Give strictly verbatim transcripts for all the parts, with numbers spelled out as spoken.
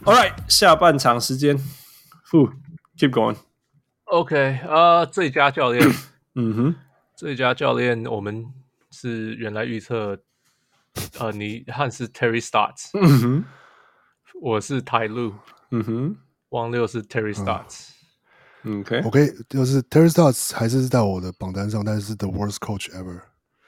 All right， 下半場時間 ，Keep going。OK， 呃，最佳教練， 嗯哼， 最佳教練，我們是原來預測，呃，你漢是 Terry Stotts， 嗯哼， 我是 Ty Lue， 嗯哼， 汪六是 Terry Stotts。 嗯、OK， OK， 就是 Terry Stotts 還是在我的榜單上，但是 the worst coach ever。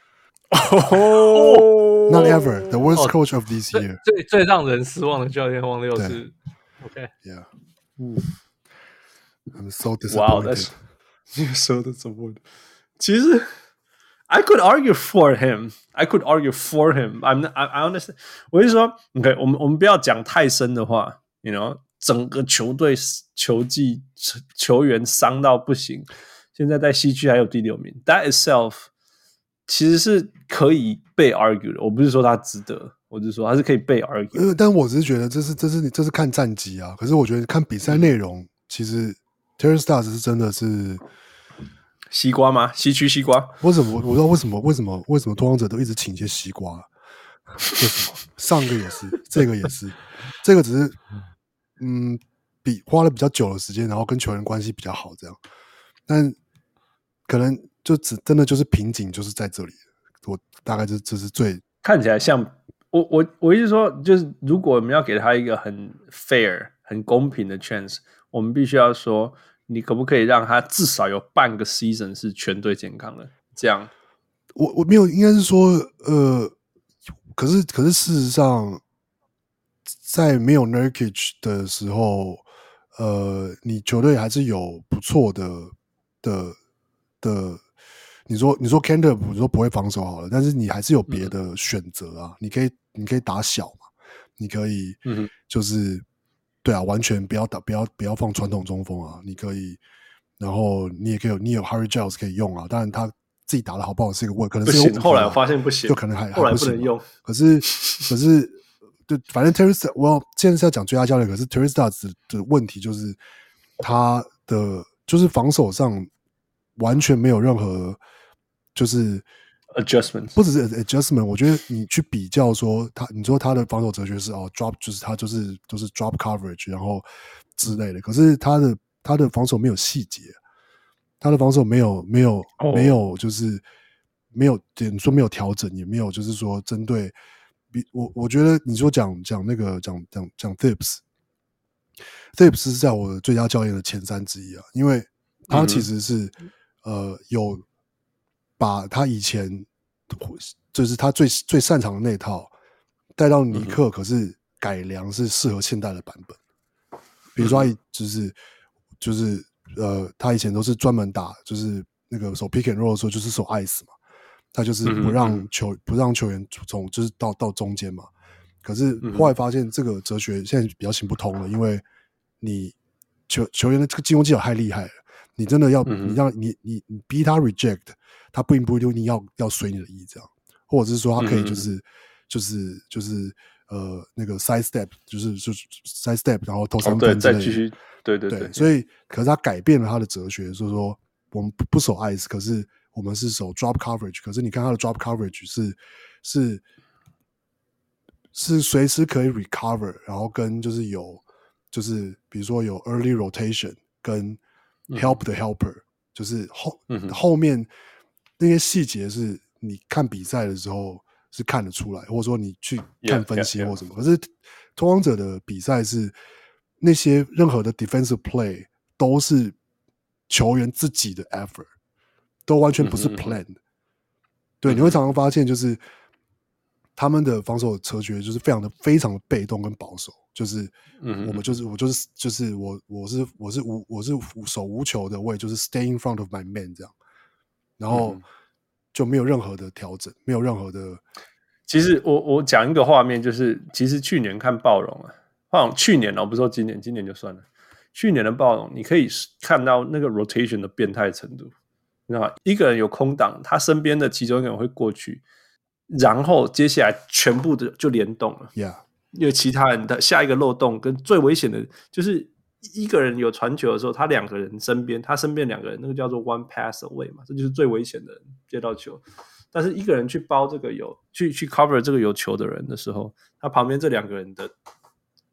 哦 Not ever, the worst coach of this year。 最最最讓人失望的教練，汪六是 OK。Yeah， 嗯 ，I'm so disappointed. Wow, you're so disappointed. 其實 I could argue for him. I could argue for him. I'm I, I understand. 我是說 ，OK， 我們我們不要講太深的話 ，you know， 整個球隊球季球員傷到不行，現在在西區還有第六名 ，That itself 其實是可以被 argue 的。我不是說他值得，我是說他是可以被 argue。 呃，但我只是覺得這是這是這是看戰績啊。可是我覺得看比賽內容，嗯、其實 Terry Stotts 是真的是。 西瓜嗎？西區西瓜？ 為什麼？我不知道為什麼？為什麼？為什麼拓荒者都一直請一些西瓜？為什麼？上個也是，這個也是，這個只是，嗯，比花了比較久的時間，然後跟球員關係比較好，這樣。但可能就只真的就是瓶頸，就是在這裡。我大概這這是最看起來像我我我意思說，就是如果我們要給他一個很 fair、很公平的 chance， 我們必須要說。你可不可以讓他至少有半個 season 是全隊健康的？這樣， 我我沒有，應該是說，呃，可是可是事實上，在沒有 Nurkic 的時候，呃，你球隊還是有不錯的的的。你說你說 Kanter 你說不會防守好了，但是你還是有別的選擇啊。嗯、你可以你可以打小嘛，你可以，嗯，就是。對啊，完全不要打，不要不要放傳統中鋒啊！你可以，然後你也可以有，你有 Harry Giles 可以用啊。當然他自己打得好不好是一個問題，可能是有、啊、 不行。後來我發現不行， 就可能還後來不能用。 還不可是可是，對，反正 Terry Stotts，我現在是要講最佳教練，可是 Terry Stotts 的問題就是他的就是防守上完全沒有任何就是。 adjustment 不只是 adjustment， 我覺得你去比較說他，你說他的防守哲學是哦 drop， 就是他就是就是 drop coverage， 然後之類的。可是他的他的防守沒有細節，他的防守沒有沒有、oh. 沒有就是沒有你說沒有調整，也沒有就是說針對比我我覺得你說講講那個講講講 Thibs，Thibs 是在我的最佳教練的前三之一啊，因為他其實是、mm-hmm. 呃有。把他以前就是他最最擅長的那套帶到尼克，可是改良是適合現代的版本。比如說，他就是就是呃，他以前都是專門打就是那個守 pick and roll 的時候，就是守 ice 嘛，他就是不讓球不讓球員從就是到到中間嘛。可是後來發現這個哲學現在比較行不通了，因為你球球員的這個進攻技巧太厲害了。你真的要，嗯、你讓你你你逼他 reject， 他不不一定要要隨你的意這樣，或者是說他可以就是、嗯、就是就是呃那個 side step， 就是就是 side step， 然後投三分之類的、哦、對，再繼續，對對 對, 對， 所以可是他改變了他的哲學，就是說我們不守 ice， 可是我們是守 drop coverage， 可是你看他的 drop coverage 是是是隨時可以 recover， 然後跟就是有就是比如說有 early rotation 跟Help the helper，、嗯、就是後、嗯、後面那些細節是你看比賽的時候是看得出來，或者說你去看分析或什麼。Yeah, yeah, yeah. 可是拓荒者的比賽是那些任何的 defensive play 都是球員自己的 effort， 都完全不是 plan 的、嗯。對，你會常常發現就是他們的防守哲學就是非常的非常的被動跟保守。就是我們就是我就是就是我我是我是無我是手無球的，我也就是 stay in front of my man 這樣，然後就沒有任何的調整，沒有任何的。 其實我我講一個畫面，就是其實去年看暴龍啊，暴龍去年我不是說今年，今年就算了。去年的暴龍，你可以看到那個 rotation 的變態程度，你知道嗎？一個人有空檔，他身邊的其中一個人會過去，然後接下來全部的就聯動了。 Yeah。 因為其他人的下一個漏洞跟最危險的，就是一個人有傳球的時候，他兩個人身邊，他身邊兩個人，那個叫做 one pass away 嘛，這就是最危險的人接到球。但是一個人去包這個有去去 cover 這個有球的人的時候，他旁邊這兩個人的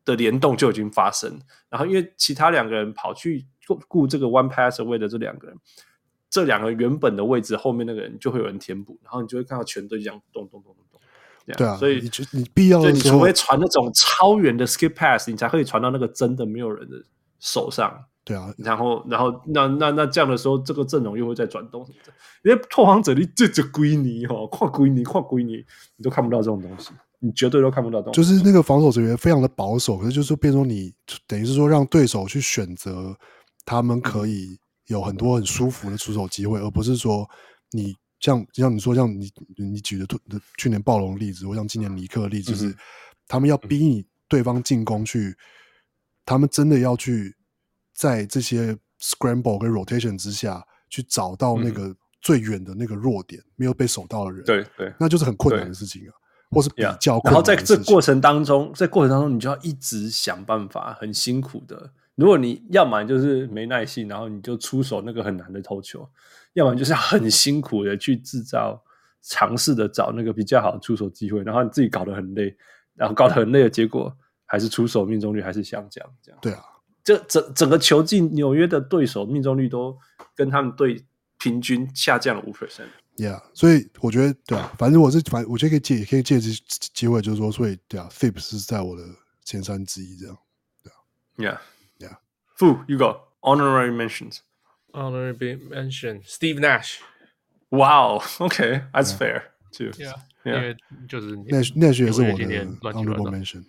的聯動就已經發生，然後因為其他兩個人跑去顧這個 one pass away 的這兩個人，這兩個原本的位置後面那個人就會有人填補，然後你就會看到全隊這樣動動動動動。 對啊， 所以你你必要的時候， 你除非傳那種超遠的 skip pass， 你才可以傳到那個真的沒有人的手上。 對啊， 然後然後那那那這樣的時候，這個陣容又會再轉動什麼的。因為拓荒者你這這歸你哦，跨歸你跨歸你，你都看不到這種東西，你絕對都看不到這種東西。 就是那個防守人員非常的保守，可是就是變成說你等於是說讓對手去選擇，他們可以有很多很舒服的出手機會，而不是說你。像像你說，像你你舉的去年暴龍的例子，或像今年尼克的例子，就是、嗯、他們要逼你對方進攻去，他們真的要去在這些 scramble 跟 rotation 之下去找到那個最遠的那個弱點，嗯、沒有被守到的人， 對對， 那就是很困難的事情啊，或是比較困難的事情。 然後在這過程當中，在過程當中，你就要一直想辦法，很辛苦的。如果你要麼就是沒耐性，然後你就出手那個很難的投球。要不然就是很辛苦的去製造，嘗試的找那個比較好的出手機會，然後你自己搞得很累，然後搞得很累的結果還是出手命中率還是下降，這樣。 對啊， 這整整個球季紐約的對手命中率都跟他們隊平均下降了五 percent。 Yeah， 所以我覺得對啊，反正我是反正我覺得可以借可以借這機會，就是說，所以對啊 ，Thibs 是在我的前三之一，這樣。對啊 ，Yeah，Yeah。Fu, you go honorary mentions。Honorary mention Steve Nash. Wow, okay, that's yeah. fair too. Yeah, yeah. 因為就是 Nash Nash 也是我的 honorable mention.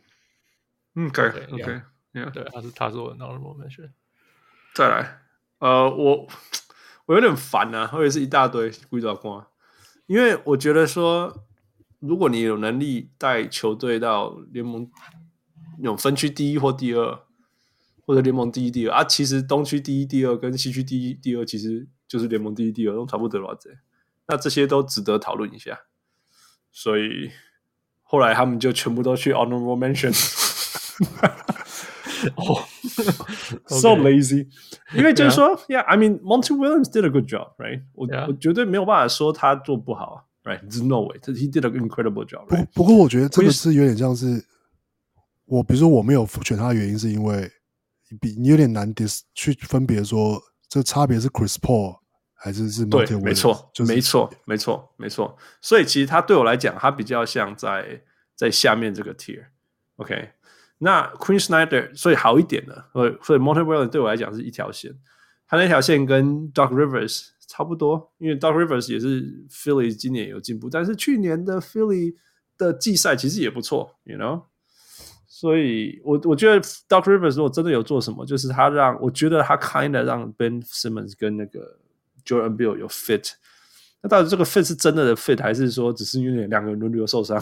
Okay, okay, yeah. 對，他是他是我的 honorable mention. 再來，呃，我我有點煩啊，或者是一大堆鬼爪瓜，因為我覺得說，如果你有能力帶球隊到聯盟那種分區第一或第二。或者聯盟第一、第二啊，其實東區第一、第二跟西區第一、第二其實就是聯盟第一、第二都差不多了這，那這些都值得討論一下。所以後來他們就全部都去 honorable mention。哦，so lazy。因為就是說 ，Yeah, I mean, Monty Williams did a good job, right? 我 Yeah. 我絕對沒有辦法說他做不好 ，right? There's no way. He did an incredible job. Right? 不不過我覺得這個是有點像是我，比如說我沒有選他的原因是因為。比你有點難 dis 去分別說，這差別是 Chris Paul 還是是 Monty Williams？對，沒錯， 就是、沒錯，沒錯，沒錯。所以其實他對我來講，他比較像在在下面這個 tier。OK， 那 Quinn Snyder 所以好一點的，所以所以 Monty Williams 對我來講是一條線，他那條線跟 Doc Rivers 差不多，因為 Doc Rivers 也是 Philly 今年有進步，但是去年的 Philly 的季賽其實也不錯 ，you know。所以我，我我覺得 Doc Rivers 如果真的有做什麼，就是他讓我覺得他 kind of 讓 Ben Simmons 跟那個 Jordan Beal 有 fit。那到底這個 fit 是真的的 fit，還是說只是因為兩個人輪流受傷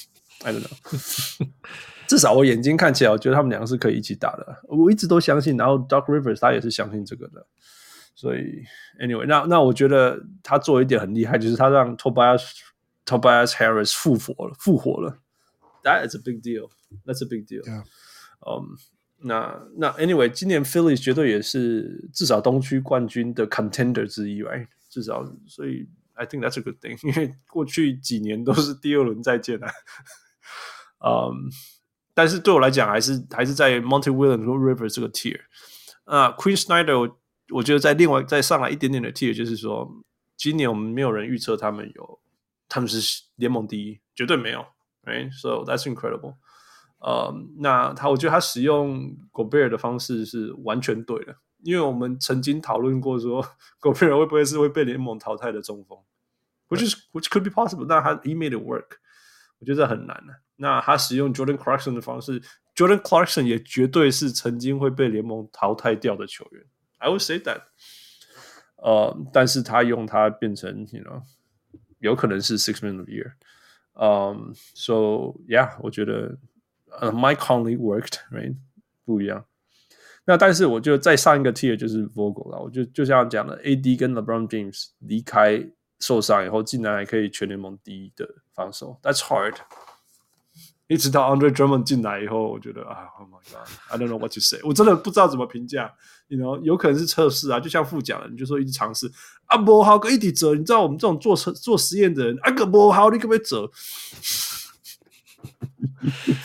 ？I don't know。至少我眼睛看起來，我覺得他們兩個是可以一起打的。我一直都相信，然後 Doc Rivers 他也是相信這個的。所以 ，anyway， 那那我覺得他做一點很厲害，就是他讓 Tobias Tobias Harris 復活了，復活了。That is a big deal. That's a big deal. Yeah. Um, 那那 anyway， 今年 Philly 絕對也是至少東區冠軍的 contender 之一 ，right？ 至少，所以 I think that's a good thing。因為過去幾年都是第二輪再見啊。um, 但是對我來講，還是還是在 Monty Williams 和 Rivers 這個 tier。啊、uh, ，Quinn Snyder， 我我覺得在另外再上來一點點的 tier，就是說，今年我們沒有人預測他們有他們是聯盟第一，絕對沒有。Right, so that's incredible. 呃、um, 那他我覺得他使用 Gobert 的方式是完全對的，因為我們曾經討論過說 Gobert 會不會是會被聯盟淘汰的中鋒 ，which is which could be possible. 但他 he made it work， 我覺得這很難的。那他使用 Jordan Clarkson 的方式 ，Jordan Clarkson 也絕對是曾經會被聯盟淘汰掉的球員。I would say that. 呃、uh, 但是他用他變成 ，you know， 有可能是 Six Man of the Year。Um, so yeah， 我覺得、uh, Mike Conley worked, right？ 不一樣。那但是我覺得再上一個 tier 就是 Vogel 了。我就就像講的 ，A D 跟 LeBron James 離開受傷以後，竟然還可以全聯盟第一的防守 ，That's hard。一直到 Andre Drummond 進來以後，我覺得啊 ，Oh my God，I don't know what to say。我真的不知道怎麼評價。You know， 有可能是測試啊，就像副講的，你就說一直嘗試啊，不好，個一直折。你知道我們這種做做實驗的人，啊個不好，你可不可以折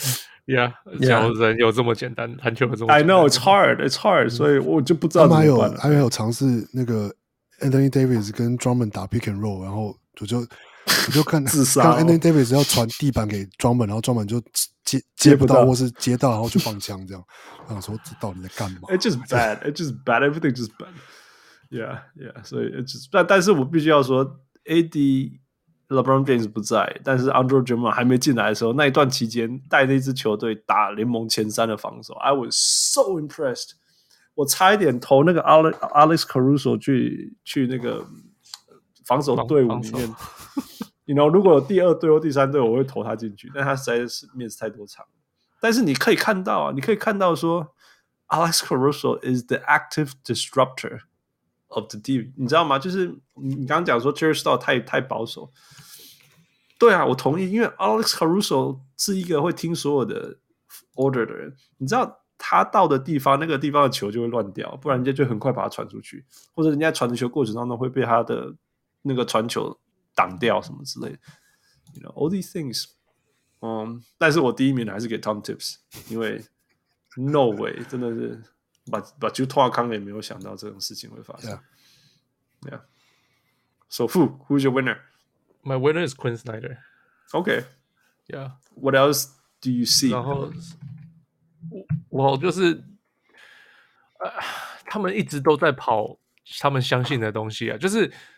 Yeah， 小人有這麼簡單，籃球有這麼簡單。 I know it's hard, it's hard，、嗯、所以我就不知道怎麼辦了。 他們還有還有嘗試那個 Anthony Davis 跟 Drummond 打 pick and roll， 然後我就我就看自殺、哦、 看 Anthony Davis 要傳地板給 Drummond， 然後 Drummond 就接接不到，或是接到然後就放槍這樣。我想說這到底在幹嘛 ？It's just bad, it's just bad, everything just bad. Yeah, yeah. 所以 it's just 但但是我必須要說 ，A D。LeBron James 不在，但是 Andre Drummond 還沒進來的時候，那一段期間帶那支球隊打聯盟前三的防守 ，I was so impressed。我差一點投那個 Alex Caruso 去去那個防守隊伍裡面。You know， 如果有第二隊或第三隊，我會投他進去，但他實在是 miss 太多場。但是你可以看到啊，你可以看到說 ，Alex Caruso is the active disruptor of the team， 你知道嗎？就是你剛剛講說 Jerry Stahl 太太保守。對啊，我同意，因為 Alex Caruso 是一個會聽所有的 order 的人。你知道他到的地方，那個地方的球就會亂掉，不然人家就很快把它傳出去，或者人家傳的球過程當中會被他的那個傳球擋掉什麼之類的。You know, all these things。嗯，但是我第一名還是給 Tom Tibbs， 因為 no way， 真的是把把球托康也沒有想到這種事情會發生。Yeah. Yeah. So Fu, who's your winner?My winner is Quinn Snyder. Okay. Yeah. What else do you see? 然後我我就是、呃，他們一直都在跑他們相信的東西啊，就是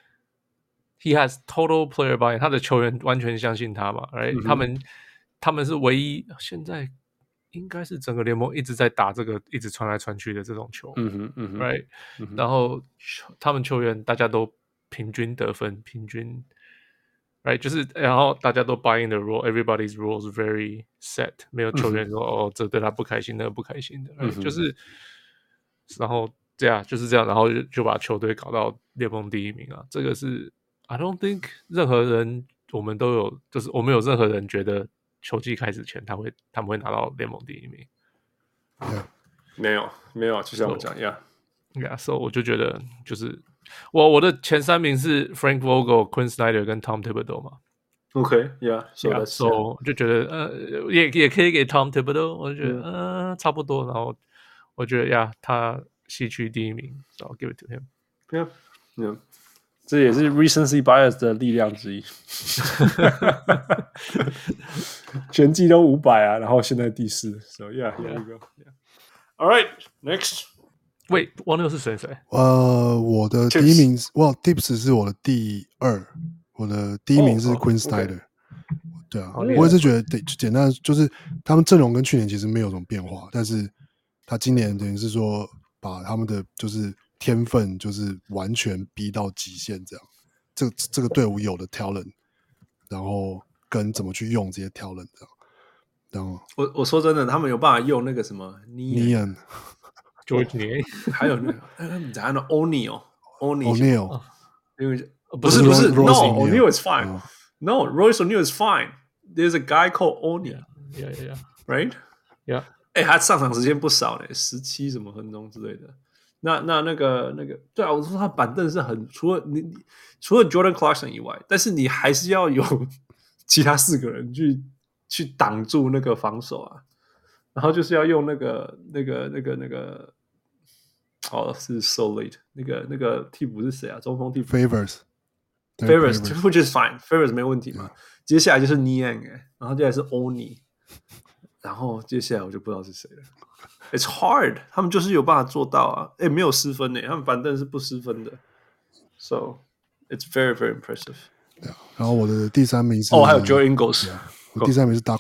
he has total player buy-in， 他的球員完全相信他嘛 ，right？、嗯、他們他們是唯一現在應該是整個聯盟一直在打這個一直傳來傳去的這種球，嗯哼嗯哼 ，right？、嗯、然後他們球員大家都平均得分，平均。Right， 就是，然後大家都 buy in the rule，everybody's rules very set， 沒有球員說、嗯、哦，這對他不開心，那個不開心的， right？、嗯、就是，然後這樣就是這樣，然後就就把球隊搞到聯盟第一名啊，這個是 I don't think 任何人我們都有，就是我們有任何人覺得球季開始前他會他們會拿到聯盟第一名， 嗯、沒有沒有，就像我講一樣 ，Yeah， so 我就覺得就是。我我的前三名是 Frank Vogel、Quinn Snyder 跟 Tom Thibodeau 嘛。 OK，Yeah，so、 yeah, so 就覺得呃也也可以給 Tom Thibodeau， 我就覺得嗯、yeah. 呃、差不多，然後我覺得呀他西區第一名 ，so I'll give it to him。Yeah，Yeah， 這也是 recency bias 的力量之一。全季都五百啊，然後現在第四 ，so yeah，here we go。All right，next。 喂，王六是誰？誰？ 呃，我的第一名是哇 ，Tips 是我的第二，我的第一名是 Quinn Snyder。對啊，我也是覺得，對，簡單就是他們陣容跟去年其實沒有什麼變化，但是他今年等於是說把他們的就是天分就是完全逼到極限，這樣。這個這個隊伍有的 talent， 然後跟怎麼去用這些 talent， 這樣。然後我我說真的，他們有辦法用那個什麼 Neon。George Niang， 還有那個，你講那 O'Neal，O'Neal， 因為不是不是 ，No O'Neal is fine，No Royce O'Neal is fine，There's a guy called O'Neal，Yeah Yeah Yeah，Right，Yeah， 哎，他上場時間不少嘞，十七什麼分鐘之類的。那那那個那個，對啊，我說他板凳是很除了你除了 Jordan Clarkson 以外，但是你還是要有其他四個人去去擋住那個防守啊，然後就是要用那個那個那個那個。哦，是 so late。那個那個替補是誰啊？中鋒替補 Favors，Favors，which is fine，Favors 沒問題嘛。Yeah. 接下來就是 Niang， 然後接下來是 Oni， 然後接下來我就不知道是誰了。It's hard， 他們就是有辦法做到啊。哎，沒有失分呢，他們板凳是不失分的。So it's very very impressive。 Yeah. 然後我的第三名是哦，還有 Joe Ingles， yeah. 我第三名是 Doc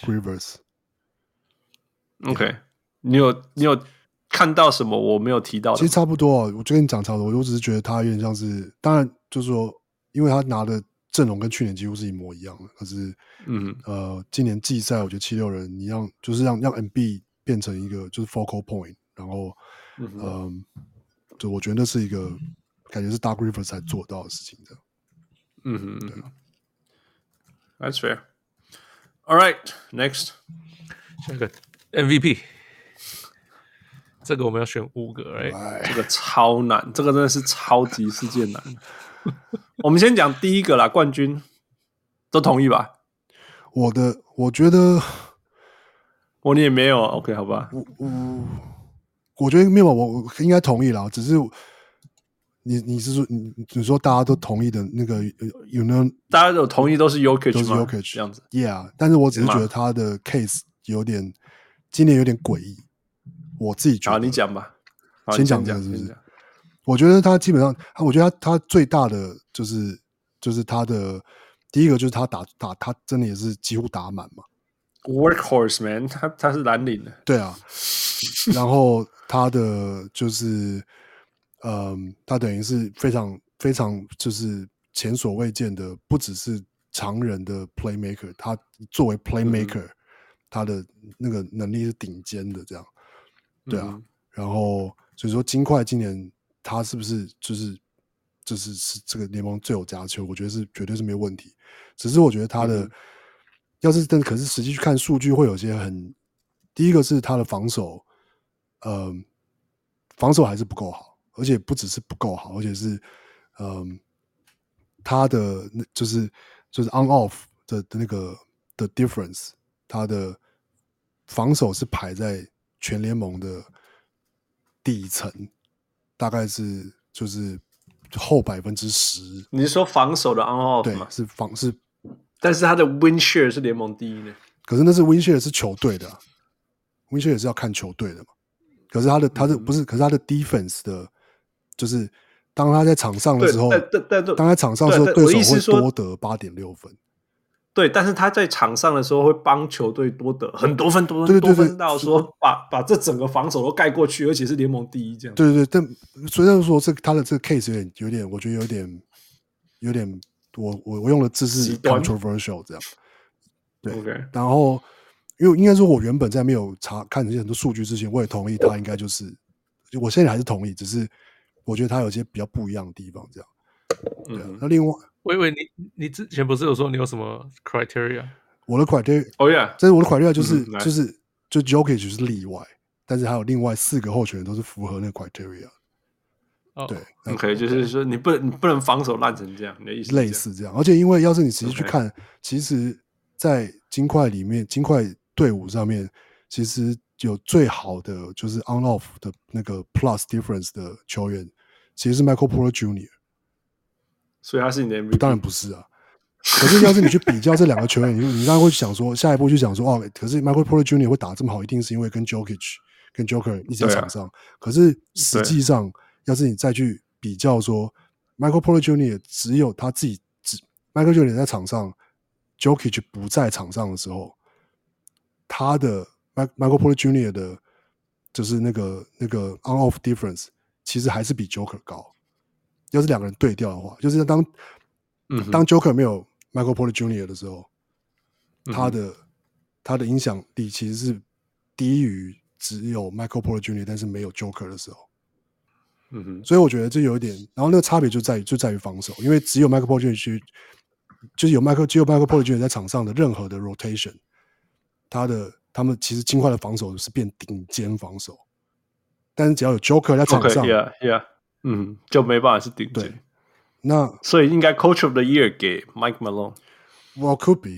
Rivers。OK， 你有你有。看到什麼我沒有提到的？ 其實差不多啊，我就跟你講差不多。我只是覺得他有點像是，當然就是說，因為他拿的陣容跟去年幾乎是一模一樣的。可是，嗯，呃，今年季賽我覺得七六人，你讓就是讓讓 M B 變成一個就是 focal point， 然後，嗯、呃，就我覺得那是一個感覺是 Doc Rivers 才做到的事情的。 嗯哼，對啊 ，That's fair. All right, next， 下一個 M V P。這個我們要選五個，哎， 這個超難，這個真的是超級世界難。我們先講第一個啦，冠軍都同意吧？ 我的，我覺得我你也沒有 ，OK 好吧？ 我我我覺得沒有，我我應該同意啦，只是你你是說你你說大家都同意的那個有沒有？ 大家都同意都是 Jokic 都是 Jokic 這樣子 ，Yeah， 但是我只是覺得他的 case 有點今年有點詭異，我自己覺得。 好，你講吧， 先講這個是不是？我覺得他基本上，我覺得他他最大的就是就是他的第一個就是他打打他真的也是幾乎打滿嘛 ，Workhorse man， 他他是藍領的， 對啊，然後他的就是嗯，他等於是非常非常就是前所未見的，不只是常人的 playmaker， 他作為 playmaker，、嗯、他的那個能力是頂尖的，這樣，對啊，嗯、然後所以說金塊今年。他是不是就是就是是這個聯盟最有價球？我覺得是絕對是沒有問題。只是我覺得他的、嗯、要是真的，可是實際去看數據，會有些很。第一個是他的防守，呃，防守還是不夠好，而且不只是不夠好，而且是嗯、呃，他的就是就是 on off 的的那個的 difference， 他的防守是排在全聯盟的底層。大概是就是後百分之十。你是說防守的 on off 嗎？ 對，是防是， 但是他的 win share 是聯盟第一的。 可是那是 win share 是球隊的、啊、，win share 也是要看球隊的嘛。可是他的他的、嗯、不是，可是他的 defense 的，就是當他在場上的時候， 但但當他在場上的時候，對手會多得八點六分。 對，但是他在場上的時候會幫球隊多得很多分，多分多分到說把把這整個防守都蓋過去，而且是聯盟第一這樣。 對對對，但雖然說這他的這個 case 有點有點，我覺得有點有點，我我我用的字是 controversial 這樣。對， okay. 然後因為應該說，我原本在沒有查看這些很多數據之前，我也同意他應該就是，我現在還是同意，只是我覺得他有些比較不一樣的地方這樣。對、啊嗯，那另外。 我以為你你之前不是有說你有什麼 criteria？ 我的 criteria， 哦、oh、yeah， 這是我的 criteria 就是、嗯、就是就 Jokic 就是例外，但是還有另外四個候選人都是符合那個 criteria。 Oh. 對 ，OK， 就是說你不能你不能防守爛成這樣，你的意思類似這樣。而且因為要是你實際去看， okay. 其實，在金塊裡面，金塊隊伍上面，其實有最好的就是 on off 的那個 plus difference 的球員，其實是 Michael Porter Junior 所以他是你的 M V P？ 當然不是啊。可是要是你去比較這兩個球員，你你當然會想說，下一步去想說，哦，可是 Michael Porter Junior 會打這麼好，一定是因為跟 Jokic 跟 Joker 一起在場上。啊、可是實際上，要是你再去比較說 ，Michael Porter Junior 只有他自己只 Michael Junior 在場上 ，Jokic 不在場上的時候，他的 Michael Porter Junior 的，就是那個那個 on off difference， 其實還是比 Joker 高。要是兩個人對調的話，就是當、嗯、當 Joker 沒有 Michael Porter Junior 的時候，嗯、他的他的影響力其實是低於只有 Michael Porter Junior 但是沒有 Joker 的時候。嗯哼，所以我覺得這有一點，然後那個差別就在於就在於防守，因為只有 Michael Porter Junior 就是有 Michael 只有 Michael Porter Junior 在場上的任何的 rotation， 他的他們其實金塊的防守是變頂尖防守，但是只要有 Joker 在場上。 Okay, yeah, yeah. 嗯，就沒辦法是頂尖。 那所以應該 Coach of the Year 給 Mike Malone。Well, could be 。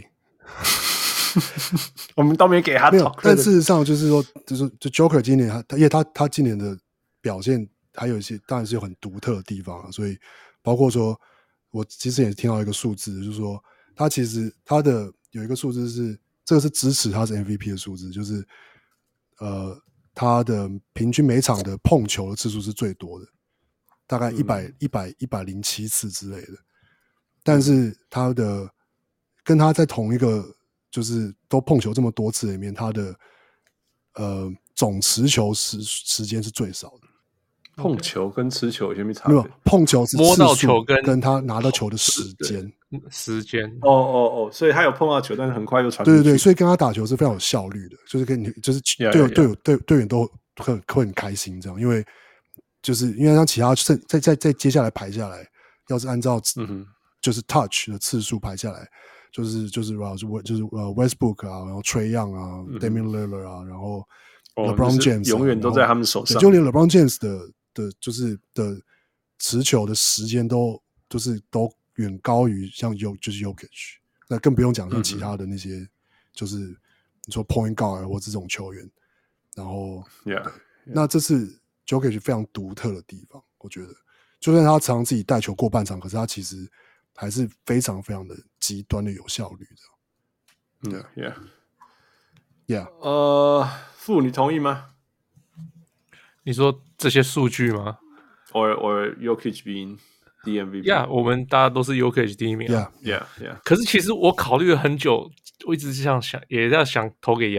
我們都沒給他。 沒有，但事實上就是說，就是就 Joker 今年他，因為他他今年的表現還有一些，當然是有很獨特的地方啊。所以包括說，我其實也聽到一個數字，就是說他其實他的有一個數字是，這個是支持他是 M V P 的數字，就是呃他的平均每場的碰球的次數是最多的。大概一百、一百、一百零七次之類的，但是他的跟他在同一個就是都碰球這麼多次裡面，他的呃總持球時時間是最少的。 碰球跟持球有些差別？ 沒有，碰球是摸到球跟跟他拿到球的時間， 時間。 哦哦哦，所以他有碰到球，但是很快又傳出去。 對對對，所以跟他打球是非常有效率的，就是跟你就是隊友隊友隊隊員都會會很開心這樣，因為。就是因為像其他再再再接下來排下來，要是按照就是 touch 的次數排下來，就是就是就是呃 Westbrook 啊，然後 Trae Young 啊、嗯、Damian Lillard 啊，然後 LeBron James、啊、 永遠都在他們手上， 就連 LeBron James 的的就是的持球的時間都就是都遠高於像 U 就是 Jokic，那更不用講像其他的那些、嗯、就是你說 point guard 或這種球員，然後 yeah, yeah. 那這是 Jokic 非常獨特的地方，我覺得，就算他常常自己帶球過半場，可是他其實還是非常非常的極端的有效率的。 對、嗯、 ，Yeah，Yeah， 呃，傅，你同意嗎？ 你說這些數據嗎 ？Or or Jokic being the M V P？Yeah， 我們大家都是 Jokic 第一名、啊。 Yeah, yeah, yeah. 可是其實我考慮了很久，我一直是這樣想，也在想投給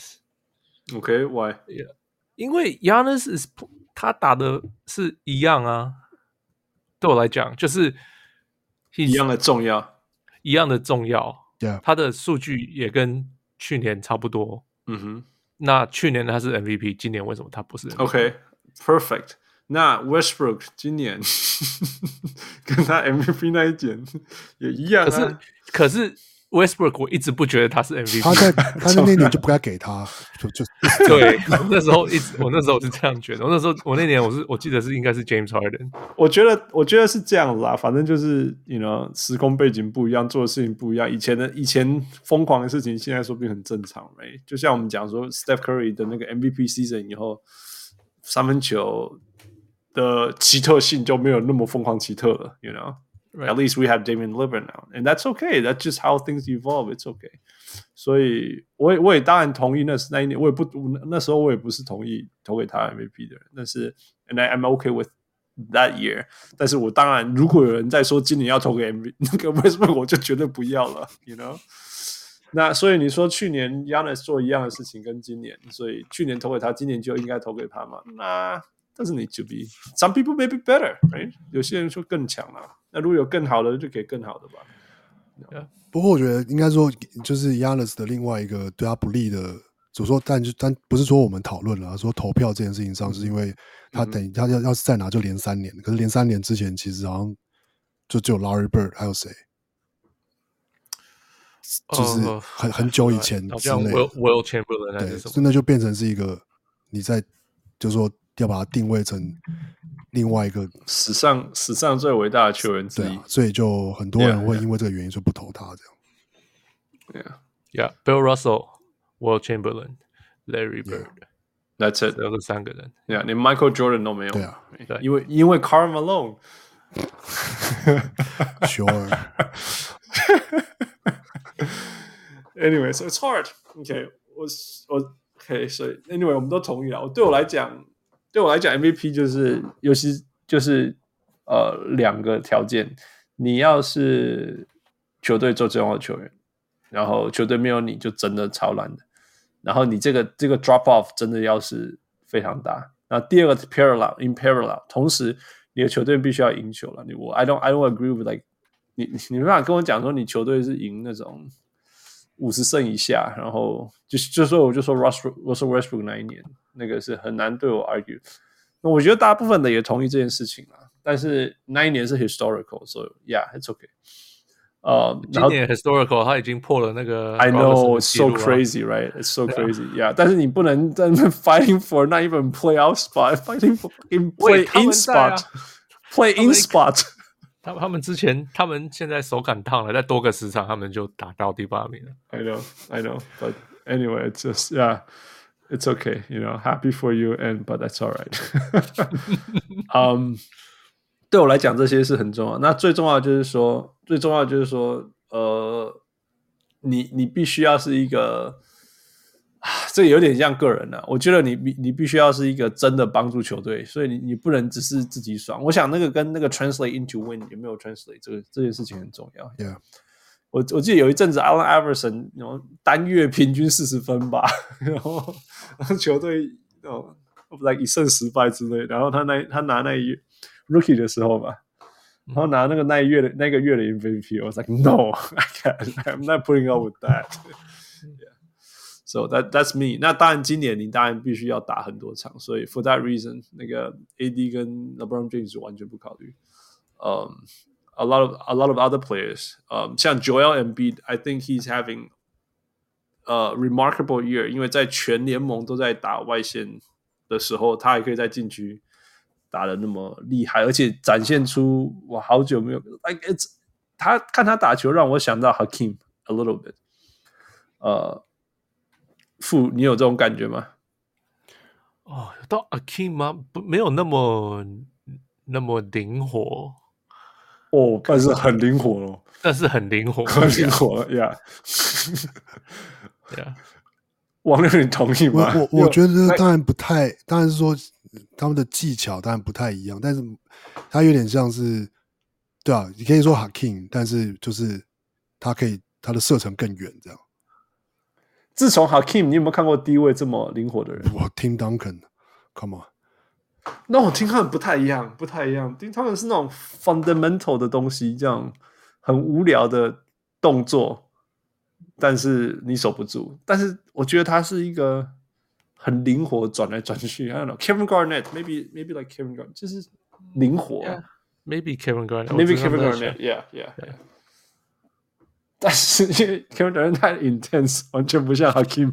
Giannis。OK，Why？、Okay, yeah. 因為 Giannis is 他打的是一樣啊，對我來講就是一樣的重要， 一樣的重要。 Yeah. 他的數據也跟去年差不多。 嗯哼， 那去年他是 M V P， 今年為什麼他不是 M V P？OK，Perfect、okay,。 那 Westbrook 今年跟他 M V P 那一點也一樣、啊、 可是可是 Westbrook 我一直不覺得他是 M V P， 他在他在那年就不該給他，就就對，我那時候一直我那時候是這樣覺得，我那時候我那年我是我記得是應該是 James Harden， 我覺得我覺得是這樣子啦，反正就是 you know 時空背景不一樣，做的事情不一樣，以前的以前瘋狂的事情，現在說不定很正常 ，right？ 就像我們講說 Steph Curry 的那個 M V P season 以後，三分球的奇特性就沒有那麼瘋狂奇特了 ，you know。Right. At least we have Damian Lillard now, and that's okay. That's just how things evolve. It's okay. 所以我也我也當然同意那是那一年，我也不那時候我也不是同意投給他 M V P 的人，但是 and I, I'm okay with that year. 但是我當然如果有人在說今年要投給 M V P 那個 Westbrook， 我就絕對不要了 ，you know。那所以你說去年 Giannis 做一樣的事情跟今年，所以去年投給他，今年就應該投給他嘛？那 doesn't need to be. Some people may be better, right? 有些人說更強了。那如果有更好的，就給更好的吧。 Yeah. 不過我覺得應該說，就是 Giannis 的另外一個對他不利的，怎麼說？但就但不是說我們討論了，說投票這件事情上，是因為他等於、嗯、他要要是再拿就連三年，可是連三年之前其實好像就只有 Larry Bird， 還有誰？就是很、uh, 很久以前之類的，好像 Will Will Chamberlain 還是什麼？ 對，那就變成是一個你在就是說要把它定位成。另外一個史上史上最偉大的球員之一， 啊，所以就很多人會因為這個原因就不投他這樣。 Yeah, yeah. Bill Russell, Will Chamberlain, Larry Bird, yeah. That's it. 只有這三個人。 Yeah, 連 Michael Jordan 都沒有。 對啊， 對， 因為因為 Karl Malone。 Sure. Anyway, so it's hard. Okay, 我我 OK， 所以 Anyway 我們都同意了。對我來講。對我來講 ，M V P 就是尤其就是呃兩個條件，你要是球隊最重要的球員，然後球隊沒有你就真的超爛的，然後你這個這個 drop off 真的要是非常大。然後第二個 parallel in parallel， 同時你的球隊必須要贏球了。你我 I don't I don't agree with like 你你沒辦法跟我講說你球隊是贏那種五十勝以下，然後就就說我就說 Russell Russell Westbrook 那一年。那個是很難對我 argue， 那我覺得大部分的也同意這件事情啦。但是那一年是 historical， 所以 yeah it's okay。呃， 今年 historical 他已經破了那個 I know it's so crazy right it's so crazy yeah， 但是你不能在那 fighting for not even playoff spot fighting for in play in spot play in spot。 他們他們之前他們現在手感燙了，再多個十場他們就打到第八名了。 I know I know but anyway it's just yeah。It's okay, you know, happy for you, and but that's all right. um, 對我來講，這些是很重要。那最重要的就是說，最重要的就是說，呃，你你必須要是一個，啊，這個有點像個人了，啊。我覺得你你必須要是一個真的幫助球隊，所以你你不能只是自己爽。我想那個跟那個 translate into win 有沒有 translate 這個這件事情很重要。 Yeah. 我我記得有一陣子 Allen Iverson 然後單月平均四十分吧，然後然後球隊哦 like 一勝十敗之類，然後他那他拿那一月 Rookie 的時候吧，然後拿那個那一月的那個月的 M V P， 我 was like no I can't I'm not putting up with that yeah. So that that's me。 那當然今年你當然必須要打很多場，所以 for that reason 那個 A D 跟 LeBron James 完全不考慮。嗯、um, A lot of a lot of other players， um, 像 Joel Embiid I think he's having a remarkable year， 因為在全聯盟都在打外線的時候，他還可以在禁區打得那麼厲害，而且展現出我好久沒有 like it's 他看他打球讓我想到 Hakeem a little bit， 呃、uh, 傅，你有這種感覺嗎？ 哦，到 Akeem 嗎？不，沒有那麼那麼靈活哦，但是很靈活哦， 但是很靈活， 很靈活呀。 Yeah. 王六，你同意嗎？ 我我我覺得當然不太，當然是說他們的技巧當然不太一樣，但是他有點像是，對啊，你可以說 Hakeem， 但是就是他可以他的射程更遠這樣。 自從 Hakeem， 你有沒有看過低位這麼靈活的人？ 我聽 Duncan，Come on， 那我聽他們不太一樣，不太一樣。聽他們是那種 fundamental 的東西，這樣很無聊的動作，但是你守不住。但是我覺得他是一個很靈活，轉來轉去。I don't know Kevin Garnett，maybe maybe like Kevin Garnett，就是靈活。 Yeah, maybe Kevin Garnett，maybe Kevin Garnett，yeah yeah yeah。但是因為 Kevin Garnett 太 intense， 完全不像 Hakeem。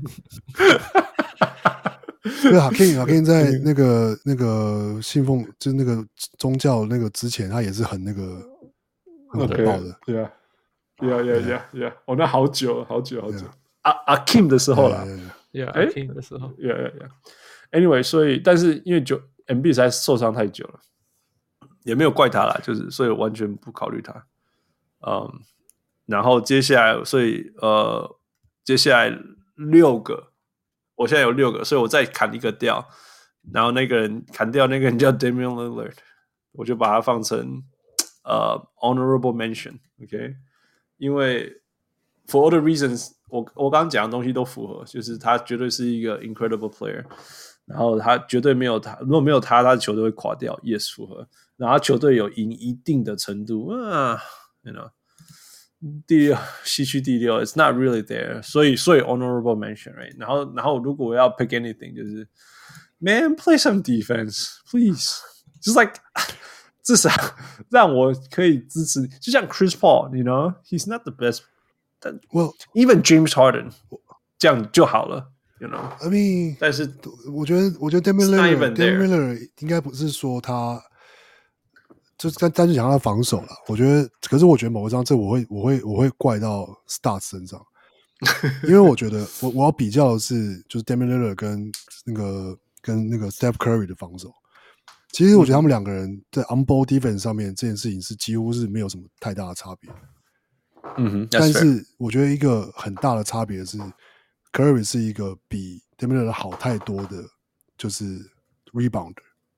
因為 Hakeem Hakeem 在那個那個信奉就是那個宗教那個之前，他也是很那個很火爆的。 對啊，對啊，對啊，對啊，對啊！哦，那好久，好久，好久。阿阿 Kim 的時候啦 ，Yeah，Akeem 的時候 ，Yeah Yeah Yeah。Anyway， 所以但是因為就 M B 實在受傷太久了，也沒有怪他啦，就是所以完全不考慮他。嗯，然後接下來，所以呃，接下來六個。我現在有六個，所以我再砍一個掉，然後那個人砍掉那個人叫 Damian Lillard， 我就把它放成呃 honorable mention，OK，、okay? 因為 for all the reasons， 我我剛剛講的東西都符合，就是他絕對是一個 incredible player， 然後他絕對沒有他，如果沒有他，他的球隊會垮掉，也、yes, 符合，然後他球隊有贏一定的程度啊 ，you know。第六西區第六 ，It's not really there， 所以所以 honorable mention，right？ 然後然後如果我要 pick anything， 就是 Man play some defense please，just like 至少讓我可以支持，就像 Chris Paul，you know，he's not the best，but well even James Harden 這樣就好了 ，you know。I mean， 但是我覺得我覺得 Damian Lillard，Damian Lillard 應該不是說他。就是單單就講他的防守啦，我覺得，可是我覺得某一張這我會我會我會怪到 Stats 身上，因為我覺得我我要比較的是就是 Damian Lillard 跟那個跟那個 Steph Curry 的防守，其實我覺得他們兩個人在 on ball defense 上面這件事情是幾乎是沒有什麼太大的差別， 嗯哼， 但是我覺得一個很大的差別是 Curry 是一個比 Damian Lillard 好太多的，就是 rebounder。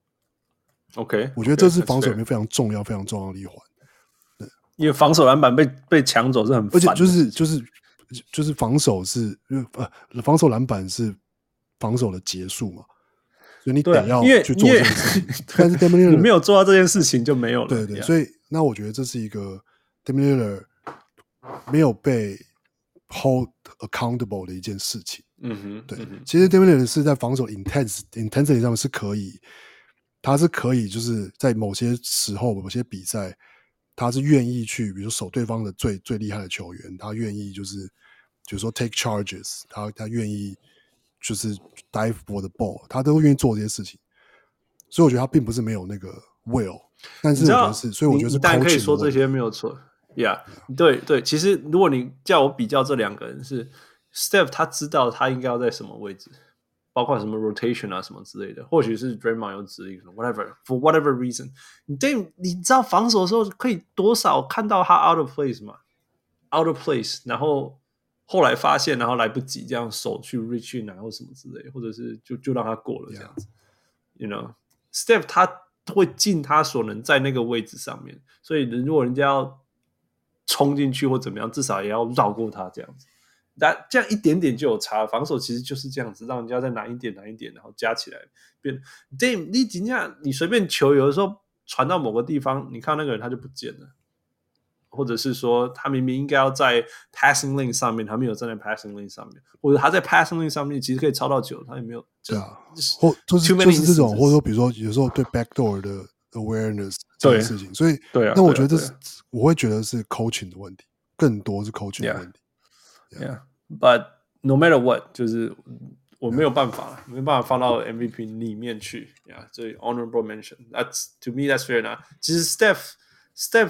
OK， 我覺得這是防守裡面非常重要、非常重要的一環。對， 因為防守籃板被被搶走是很煩的， 而且就是就是就是防守是呃防守籃板是防守的結束嘛，所以你得要去做這件事情。但是 Damian Lillard 你沒有做到這件事情就沒有了。 對對， yeah. 所以那我覺得這是一個 Damian Lillard 沒有被 hold accountable 的一件事情。 嗯哼， 對， 嗯哼其實 Damian Lillard 是在防守 intensity intensity 上面是可以。他是可以，就是在某些時候、某些比賽，他是願意去，比如說守對方的最最厲害的球員，他願意就是，比如說 take charges， 他他願意就是 dive for the ball， 他都願意做這些事情。所以我覺得他並不是沒有那個 will， 但是我覺得是，所以我覺得是 coaching 的問題。 你當然可以說這些沒有錯 ，Yeah， 對對。其實如果你叫我比較這兩個人是 Steph， 他知道他應該要在什麼位置。包括什麼 rotation 啊什麼之類的，或許是 Draymond 有指令 ，whatever for whatever reason， 你對你知道防守的時候可以多少看到他 out of place 嗎 ？out of place， 然後後來發現，然後來不及這樣手去 reach in 啊或什麼之類的，或者是就就讓他過了這樣子。Yeah. You know, Steph 他會盡他所能在那個位置上面，所以如果人家要衝進去或怎麼樣，至少也要繞過他這樣子。那這樣一點點就有差，防守其實就是這樣子，讓人家再難一點難一點，然後加起來變。Dame，你怎樣？你隨便球有的時候傳到某個地方，你看那個人他就不見了，或者是說他明明應該要在 passing lane 上面，他沒有站在 passing lane 上面，或者他在 passing lane 上面其實可以抄到球，他也沒有。 對啊，或就是就是這種，或者說比如說有時候對 backdoor 的 awareness 這件事情，所以對啊， 那我覺得這是我會覺得是 coaching 的問題，更多是 coaching 的問題。 Yeah, but no matter what， 就是我沒有辦法， yeah. 沒辦法放到 M V P 裡面去。Yeah， 所以 honorable mention. That's to me, that's fair enough. 其實 Steph, Steph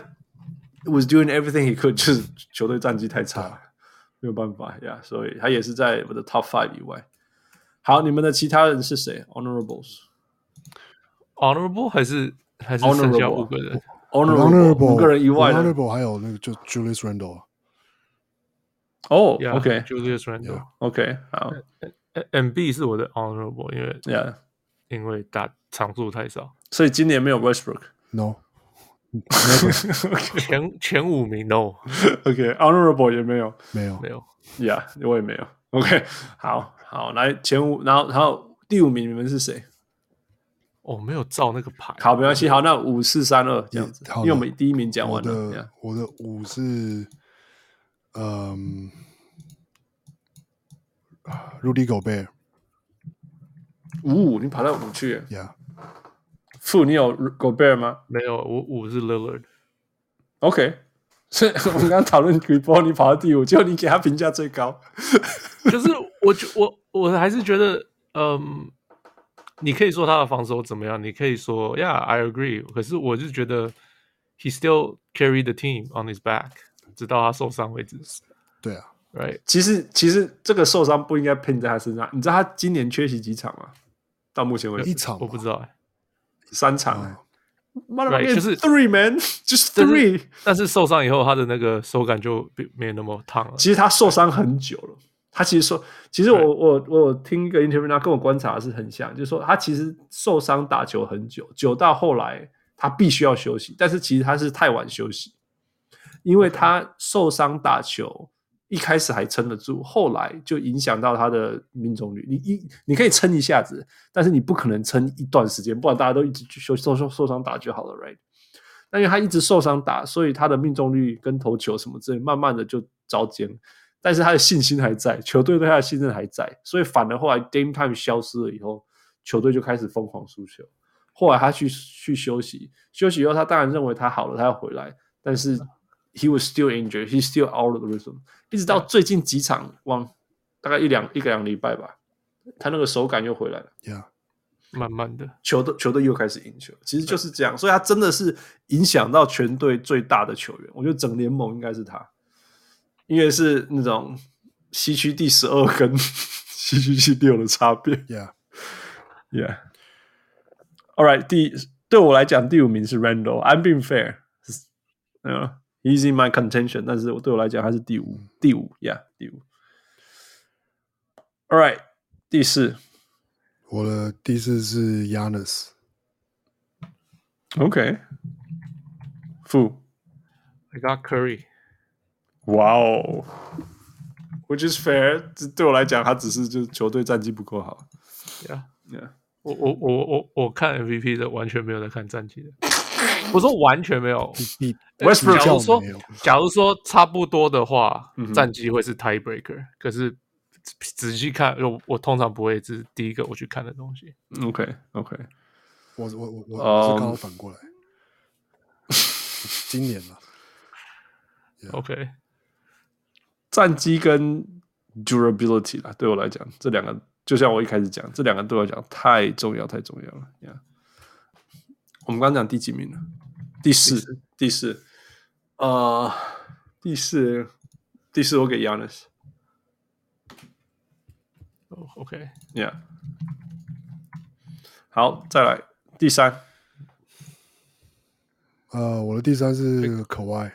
was doing everything he could， 就是球隊戰績太差了，沒有辦法。Yeah， 所以他也是在我的 top five 以外。 好，你們的其他人是誰 ？Honorables，Honorable 還是還是剩下五個人 ？Honorable 五個人以外的 ，Honorable 還有那個就 Julius Randle。 哦 yeah, ，OK， Julius Randle，OK，、 yeah. 好 ，M B 是我的 Honorable， 因為 ，Yeah， 因為打場數太少， 所以今年沒有 Westbrook。No， 前前五名 No，OK，Honorable、okay, 也沒有， 沒有沒有 ，Yeah， 我也沒有 ，OK， 好好來前五，然後然後第五名你們是誰？ 哦，沒有照那個牌， 好，沒關係，好，那五四三二這樣子，因為我們第一名講完了。 我的、yeah. 我的五是，嗯、um, ，Rudy Gobert。 五，你跑到五去 ？Yeah。 負，你有 Gobert 嗎？ 沒有，我五是 Lillard。OK， 所以我們剛剛討論 Chris Paul， 你跑到第五，結果你給他評價最高。 就是我我我還是覺得，嗯，你可以說他的防守怎麼樣，你可以說 Yeah，I agree。可是我就覺得 he still carry the team on his back， 直到他受傷為止。 對啊 ，Right。 其實其實這個受傷不應該拼在他身上。你知道他今年缺席幾場嗎？到目前為止一場我不知道、欸， 三場。媽的， right, 就是 three man， 就是 three 但。但是受傷以後，他的那個手感就沒那麼燙了。 其實他受傷很久了。他其實說，其實我我我有聽一個 interview， 他跟我觀察的是很像，就是說他其實受傷打球很久，久到後來他必須要休息，但是其實他是太晚休息，因為他受傷打球一開始還撐得住，後來就影響到他的命中率。你一你可以撐一下子，但是你不可能撐一段時間，不然大家都一直休受受受傷打就好了 ，right？ 但因為他一直受傷打，所以他的命中率跟投球什麼之類，慢慢的就糟踐。但是他的信心還在，球隊對他的信任還在，所以反而後來 Dame Time 消失了以後，球隊就開始瘋狂輸球。後來他去去休息，休息以後他當然認為他好了，他要回來，但是 he was still injured, he's still out of the rhythm。一直到最近幾場，往大概一兩一個兩禮拜吧，他那個手感又回來了。 Yeah， 慢慢的， 球隊球隊又開始贏球，其實就是這樣。所以他真的是影響到全隊最大的球員，我覺得整聯盟應該是他。因為是那種西區第十二跟西區第六的差別。 Yeah, yeah. All right， 第對我來講，第五名是 Randle。I'm being fair， uh, he's in my contention， 但是對我來講，他是第五，第五 ，Yeah， 第五。All right， 第四， 我的第四是 Giannis。 OK， 負 I got Curry。 哇哦 ，Which is fair， 對我來講，他只是就是球隊戰績不夠好。 Yeah， yeah， 我我我我我看 M V P 的完全沒有在看戰績的，我說完全沒有。 Westbrook 假如說假如說差不多的話， 嗯、 戰績會是 tiebreaker。可是仔細看，我我通常不會是第一個我去看的東西。 OK OK， 我我我我、um, 我是剛好反過來，今年了。 Yeah. OK。 戰績跟 durability 啦，對我來講，這兩個就像我一開始講，這兩個對我來講太重要，太重要了。Yeah. 我們剛剛講第幾名了？第四，第四，呃，第四，第四，我給 Giannis。Oh, OK，Yeah， 好，再來第三。 呃，我的第三是 Kawhi。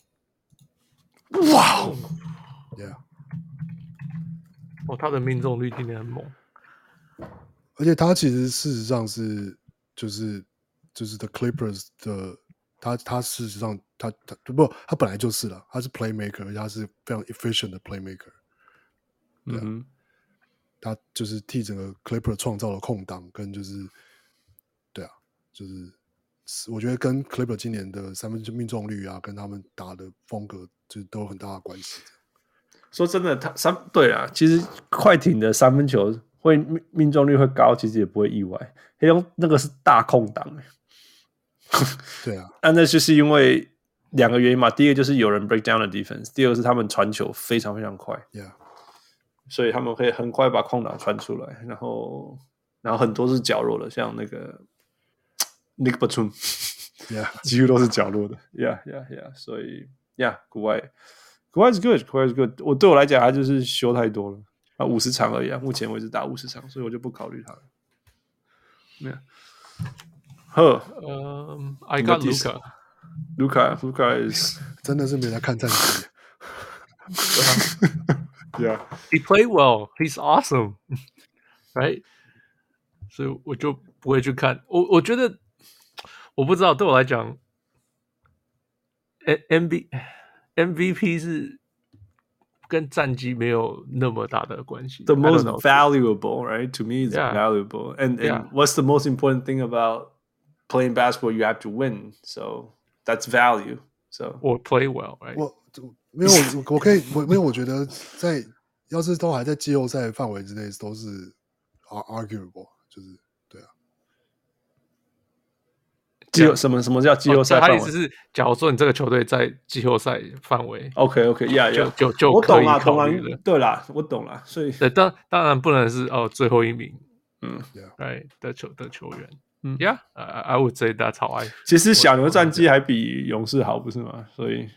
哇哦！ Yeah， 哦，他的命中率今年很猛， 而且他其實事實上是就是就是 The Clippers 的，他他事實上他他不他本來就是了，他是 playmaker， 而且他是非常 efficient 的 playmaker。對啊，嗯，他就是替整個 Clipper 創造了空檔，跟就是對啊，就是我覺得跟 Clipper 今年的三分球命中率啊，跟他們打的風格就都有很大的關係。 說真的，他三對啊，其實快艇的三分球會命命中率會高，其實也不會意外。黑龍那個是大空檔， 對啊， 那那就是因為兩個原因嘛。第一個就是有人 break down the defense， 第二個是他們傳球非常非常快， yeah， 所以他們可以很快把空檔傳出來，然後然後很多是角落的，像那個 Nick Batum，yeah， 幾乎都是角落的 ，yeah yeah yeah， 所以 yeah， 國外。Kawhi is good, Kawhi is good。我對我來講，他就是修太多了。 啊，五十場而已啊，目前為止打五十場，所以我就不考慮他了。沒有。呵， 嗯、um, ，I got Luka。 Luka Luka is 真的是沒來看戰績。 Yeah, he played well. He's awesome, right? 所以我就不會去看。我我覺得我不知道，對我來講 ，M V M V P 是跟戰績沒有那麼大的關係。 The most valuable, right? To me, it's yeah. valuable. And and yeah. what's the most important thing about playing basketball? You have to win. So that's value. So or play well, right? 我沒有，我可以，我沒有，我覺得在要是都還在季後賽範圍之內，都是 arguable， 就是對啊。 季後什麼什麼叫季後賽範圍？ 他意思是，假如說你這個球隊在季後賽範圍 ，OK OK，Yeah Yeah， 就就就我懂啦， 可以考慮懂啦，對啦，我懂啦，所以對，當當然不能是哦最後一名， 嗯 ，right 的球的球員。嗯 ，Yeah，I I would say that's how I。 其實小牛戰績還比勇士好，不是嗎？所以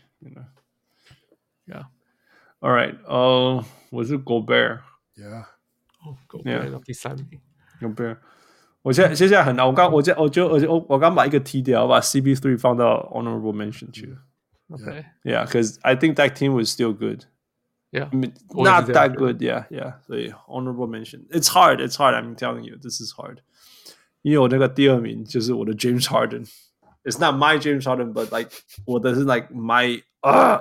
，Yeah，All right，哦、uh, ，我是 Gobert，Yeah， 哦 ，Gobert 到第三名 ，Gobert， 我現在接下來很難，我剛我我就我就我剛把一個踢掉，我把 C P three 放到 honorable mention 去了 ，OK，Yeah，because I think that team was still good。Yeah, I mean, not that good. Yeah, yeah. 所以 honorable mention. It's hard. It's hard. I'm telling you, this is hard. 因為我那個第二名就是我的 James Harden. It's not my James Harden, but like 我的是 like my ah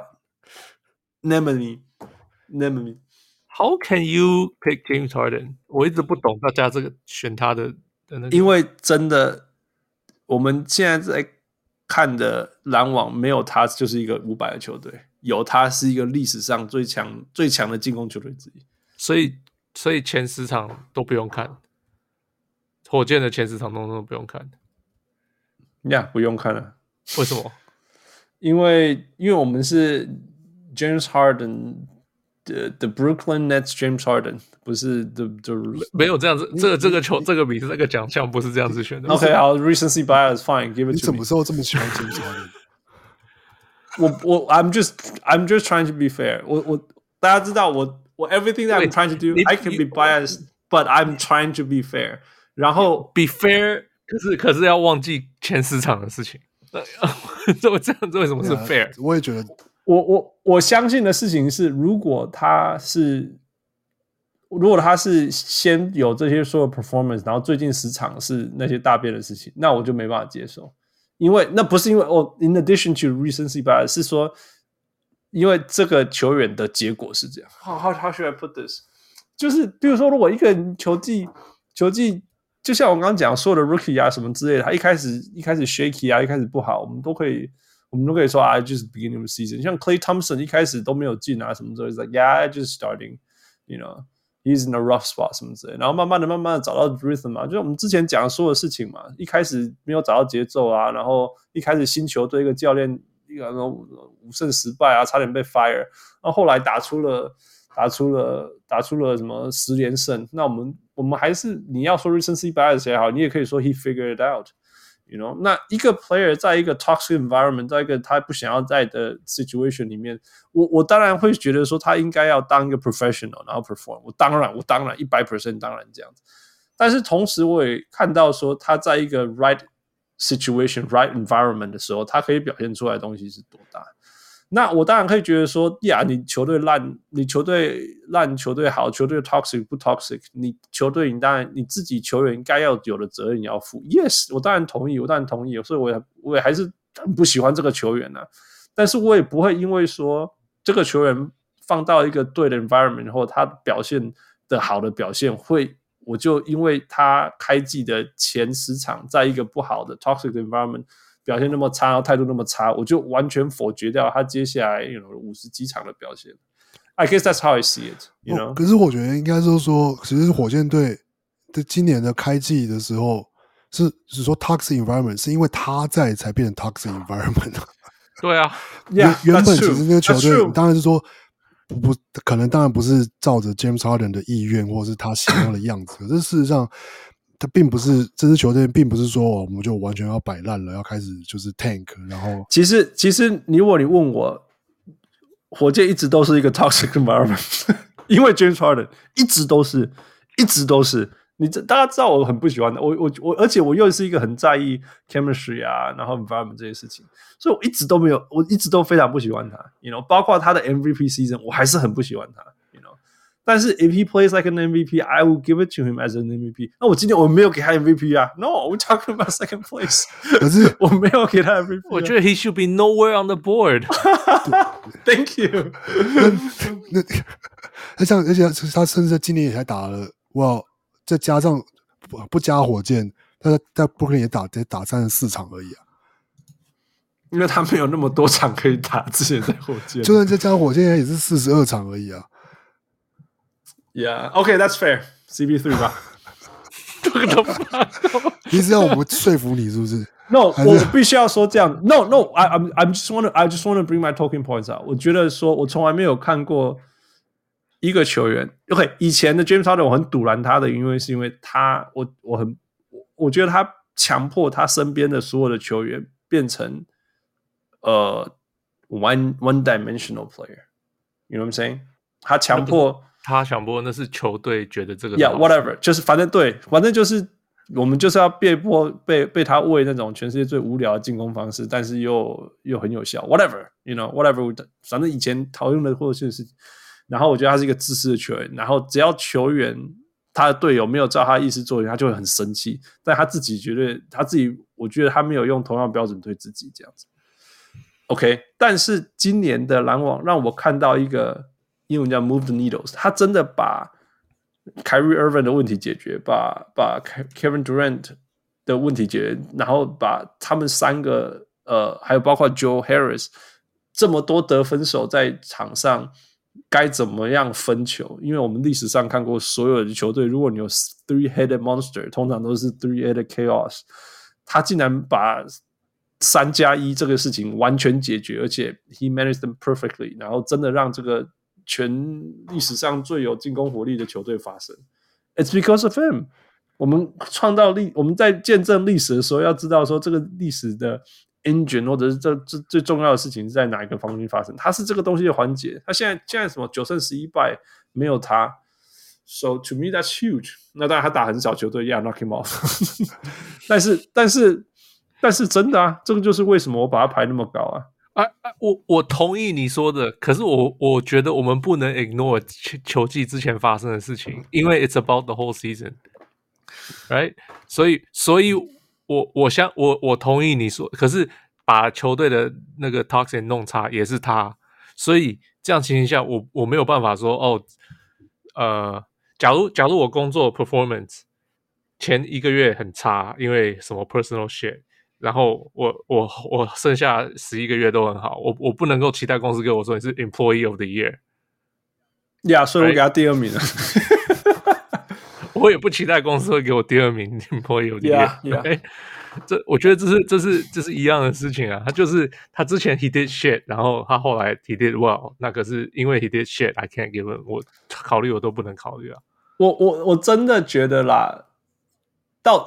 enemy, enemy. How can you pick James Harden? 我一直不懂大家這個選他的的那個。 因為真的，我們現在在看的籃網沒有他就是一個五百的球隊。有他是一個歷史上最強最強的進攻球隊之一， 所以所以前十場都不用看，火箭的前十場都都不用看， 呀、yeah, 不用看了， 為什麼？ 因為因為我們是 James Harden the the Brooklyn Nets James Harden 不是 the the 沒有這樣子，這個這個球這個比這個獎項不是這樣子選的。 OK 好 ，recency bias fine， give it to me。 你什麼時候這麼喜歡 James Harden？ 我我 I'm just I'm just trying to be fair 我。我我大家知道我我 everything that I'm trying to do I can be biased, but I'm trying to be fair。然後 be fair， 可是可是要忘記前十場的事情。這麼這樣子為什麼是 fair？、 yeah, 我也覺得， 我我我相信的事情是，如果他是如果他是先有這些所有 performance， 然後最近十場是那些大便的事情，那我就沒辦法接受。因為那不是因為哦 ，in addition to recency bias， 是說，因為這個球員的結果是這樣。How how how should I put this？ 就是比如說，如果一個人球技球技，就像我剛剛講所有的 rookie 啊什麼之類的，他一開始一開始 shaky 啊，一開始不好，我們都可以我們都可以說啊 ，just beginning of the season。像 Klay Thompson 一開始都沒有進啊什麼之類的 ，like yeah，just starting，you know。He's in a rough spot 什麼之類的，然後慢慢的、慢慢的找到 rhythm 嘛，就是我們之前講的所有事情嘛。一開始沒有找到節奏啊，然後一開始新球隊一個教練一個五勝十敗啊，差點被 fire， 然後後來打出了打出了打出了什麼十連勝。那我們我們還是你要說 recency bias 也好，你也可以說 he figured it out。You know， 那一個 player 在一個 toxic environment， 在一個他不想要在的 situation 裡面，我我當然會覺得說他應該要當一個 professional， 然後 perform。我當然，我當然一百 percent 當然這樣子。但是同時我也看到說他在一個 right situation、right environment 的時候，他可以表現出來的東西是多大。那我當然可以覺得說，呀，你球隊爛，你球隊爛，球隊好，球隊 toxic 不 toxic， 你球隊你當然你自己球員該要有的責任你要負。Yes， 我當然同意，我當然同意，所以我也我也還是很不喜歡這個球員啊。但是我也不會因為說這個球員放到一個對的 environment 後，他表現的好的表現會，我就因為他開季的前十場在一個不好的 toxic environment。表現那麼差，態度那麼差，我就完全否決掉他接下來 you know 五十幾場的表現。I guess that's how I see it. You know？、 哦、可是我覺得應該是說，其實火箭隊的今年的開季的時候是是說 toxic environment， 是因為他在才變成 toxic environment。 對啊， 原 yeah, 原本其實那個球隊當然是說不不可能，當然不是照着 James Harden 的意願或是他想要的樣子，可是事實上。他並不是這支球隊，並不是說我們就完全要擺爛了，要開始就是 tank， 然後其實其實你如果你問我，火箭一直都是一個 toxic environment， 因為 James Harden 一直都是，一直都是。你這大家知道我很不喜歡的，我我我，而且我又是一個很在意 chemistry 啊，然後 environment 這些事情，所以我一直都沒有，我一直都非常不喜歡他 ，you know， 包括他的 M V P season， 我還是很不喜歡他 ，you know。但是 if he plays like an M V P，I will give it to him as an M V P。那我今天我沒有給他 M V P 啊 ，No，we're talking about second place。可是我沒有給他 M V P，啊， 我覺得 he should be nowhere on the board。 Thank you 那那像而且他甚至今年也才打了哇。再加上不不加火箭，他在在布克也打得打三十四場而已啊， 因為他沒有那麼多場可以打。之前在火箭， 就算再加火箭也是四十二場而已啊。 Yeah, okay, that's fair. C P three 吧。 你是要我們說服你是不是 ？No， 我必須要說這樣。No, no, I I'm I'm just want to I just want to bring my talking points out。我覺得說，我從來沒有看過。一個球員 ，OK， 以前的 James Harden 我很賭爛他的，因為是因為他，我我很，我覺得他強迫他身邊的所有的球員變成呃 one one dimensional player，you know what I'm saying？ 他強迫他強迫那是球隊覺得這個 ，Yeah whatever， 就是反正對，反正就是我們就是要被迫被被他餵那種全世界最無聊的進攻方式，但是又又很有效 ，whatever，you know whatever， 反正以前討論的或者是。然後我覺得他是一個自私的球員，然後只要球員他的隊友沒有照他的意思做，他就會很生氣。但他自己覺得他自己，我覺得他沒有用同樣標準對自己這樣子。OK， 但是今年的籃網讓我看到一個英文叫 move the needles， 他真的把 Kyrie Irving 的問題解決，把把 Kevin Durant 的問題解決，然後把他們三個呃，還有包括 Joe Harris 這麼多得分手在場上。該怎麼樣分球？因為我們歷史上看過所有的球隊，如果你有 three-headed monster， 通常都是 three-headed chaos。他竟然把三加一這個事情完全解決，而且 he managed them perfectly， 然後真的讓這個全歷史上最有進攻火力的球隊發生。It's because of him。我們創造歷，我們在見證歷史的時候，要知道說這個歷史的。engine 或者是這這最重要的事情是在哪一個方面發生？他是這個東西的環節。他現在現在什麼九勝十一敗沒有他 ，so to me that's huge。那當然他打很少球隊 ，yeah knock him off 但。但是但是但是真的啊，這個就是為什麼我把他排那麼高啊！ 啊啊，我我同意你說的，可是我我覺得我們不能 ignore 球季之前發生的事情，因為 it's about the whole season，right？ 所以所以。我我相我我同意你說，可是把球隊的那個 toxin 弄差也是他，所以這樣情形下，我我沒有辦法說哦，呃，假如假如我工作 performance 前一個月很差，因為什麼 personal shit， 然後我我我剩下十一個月都很好，我我不能夠期待公司給我說你是 employee of the year， 呀、yeah, 所以我給他第二名了。 我也不期待公司會給我第二名 employee of the year。 Yeah, yeah. 欸、這我覺得這是這是這是一樣的事情啊。他就是他之前 he did shit， 然後他後來 he did well。那可是因為 he did shit，I can't give him。我考慮我都不能考慮啊。 我我我真的覺得啦，到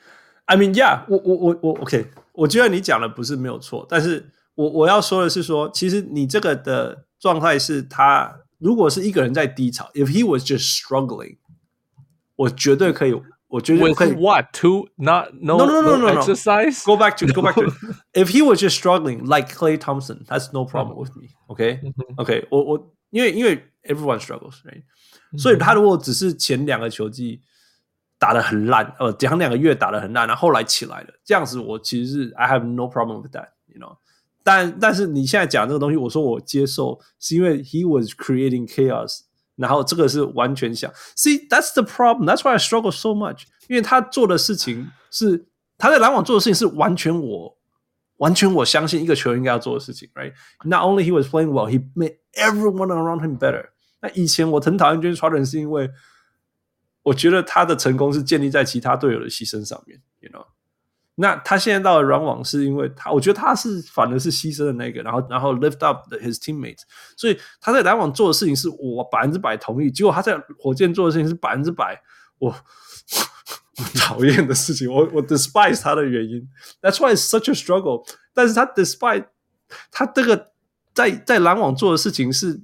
I mean yeah， 我我我我 OK， 我覺得你講的不是沒有錯，但是我我要說的是說，其實你這個的狀態是他如果是一個人在低潮 ，if he was just struggling。我絕對可以，我絕對可以。 With what? To not no no no no no, no exercise? Go back to go back to. If he was just struggling like Klay Thompson, that's no problem with me. OK OK， 我我因為因為 everyone struggles, right? 所以他如果只是前兩個球季打得很爛，呃，前兩個月打得很爛，然後後來起來了，這樣子我其實是 I have no problem with that, you know. 但但是你現在講這個東西，我說我接受，是因為 he was creating chaos。然後這個是完全想 ，See that's the problem. That's why I struggle so much. 因為他做的事情是他在籃網做的事情是完全我完全我相信一個球員應該要做的事情 ，right? Not only he was playing well, he made everyone around him better. 那以前我很討厭 James Harden 是因為我覺得他的成功是建立在其他隊友的犧牲上面 ，you know. 那他現在到了籃網是因為他，我覺得他是反而是犧牲的那個，然後然後 lift up his teammates， 所以他在籃網做的事情是我百分之百同意，結果他在火箭做的事情是百分之百我我討厭的事情，我我 despise 他的原因 ，That's why it's such a struggle。但是他 despite 他這個在在籃網做的事情是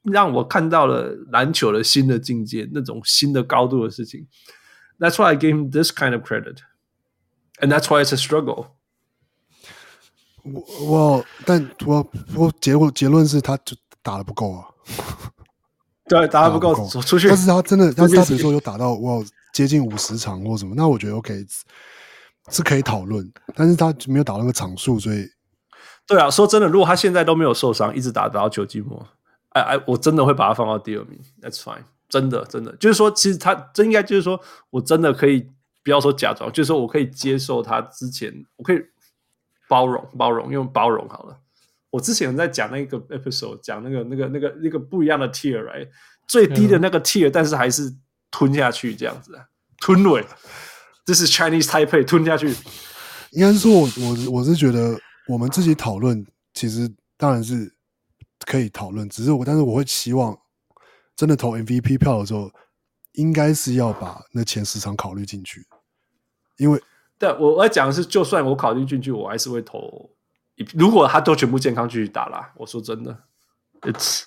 讓我看到了籃球的新的境界，那種新的高度的事情。That's why I gave him this kind of credit, and that's why it's a struggle. 我我但我我結果結論是他就打得不夠啊。 對，打得不夠，走出去。 但是他真的，但是他比如說有打到哇接近五十場或什麼，那我覺得 OK 是可以討論。但是他沒有打到那個場數，所以對啊，說真的，如果他現在都沒有受傷，一直打打到球季末，哎哎，我真的會把他放到第二名。That's fine， 真的真的，就是說，其實他真應該就是說我真的可以不要說假裝，就是說我可以接受他之前，我可以包容包容，用包容好了。我之前在講那個 episode， 講那個那個那個那個不一樣的 tier，right？ 最低的那個 tier，、嗯、但是還是吞下去這樣子，吞尾，這是 Chinese Taipei 吞下去。 應該是說我，我我是覺得我們自己討論，其實當然是可以討論，只是我，但是我會希望真的投 M V P 票的時候，應該是要把那前十場考慮進去，因為對我我要講的是，就算我考慮進去，我還是會投。如果他都全部健康繼續打啦，我說真的 ，It's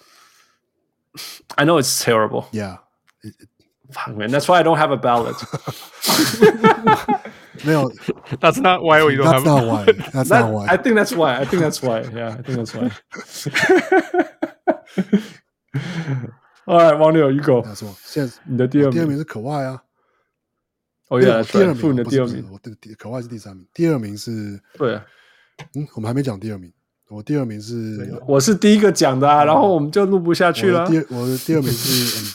I know it's terrible. Yeah, it, it, fuck man, that's why I don't have a ballot. 沒有 That's not why we don't that's have. Not why. That's that, not why. I think that's why. I think that's why. Yeah, I think that's why. All right, 王柳 you go. 現在你的第二名， 第二名是可外啊。 哦、oh, ，Yeah， 第二名你的第二名， 我的可外是第三名，第二名是对、啊， 嗯，我们還沒講第二名，我第二名是， 我是第一個講的啊，然後我們就錄不下去了。 我的第二，我的第二名是 M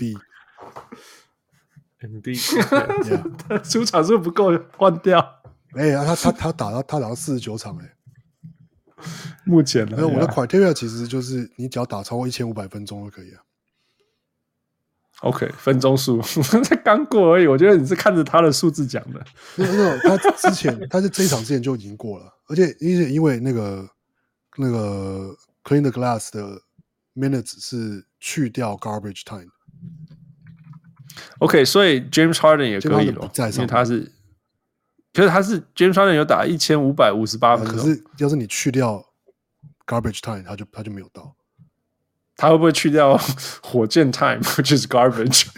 B，M B， 他出場數不夠換掉。 哎、欸，他他他打到他打到四十九場哎、欸， 目前呢， 沒有我的 criteria 其實就是你只要打超過一千五百分鐘就可以了。 OK， 分鐘數才剛過而已，我覺得你是看着他的數字講的。 沒有，沒有，他之前他是這一場之前就已經過了，而且因為因為那個那個 Clean the Glass 的 minutes 是去掉 garbage time。OK， 所以 James Harden 也可以了，因為他是，可是他是 James Harden 有打一千五百五十八分鐘， 可是要是你去掉 garbage time， 他就他就沒有到。 他會不會去掉火箭 time， which is garbage？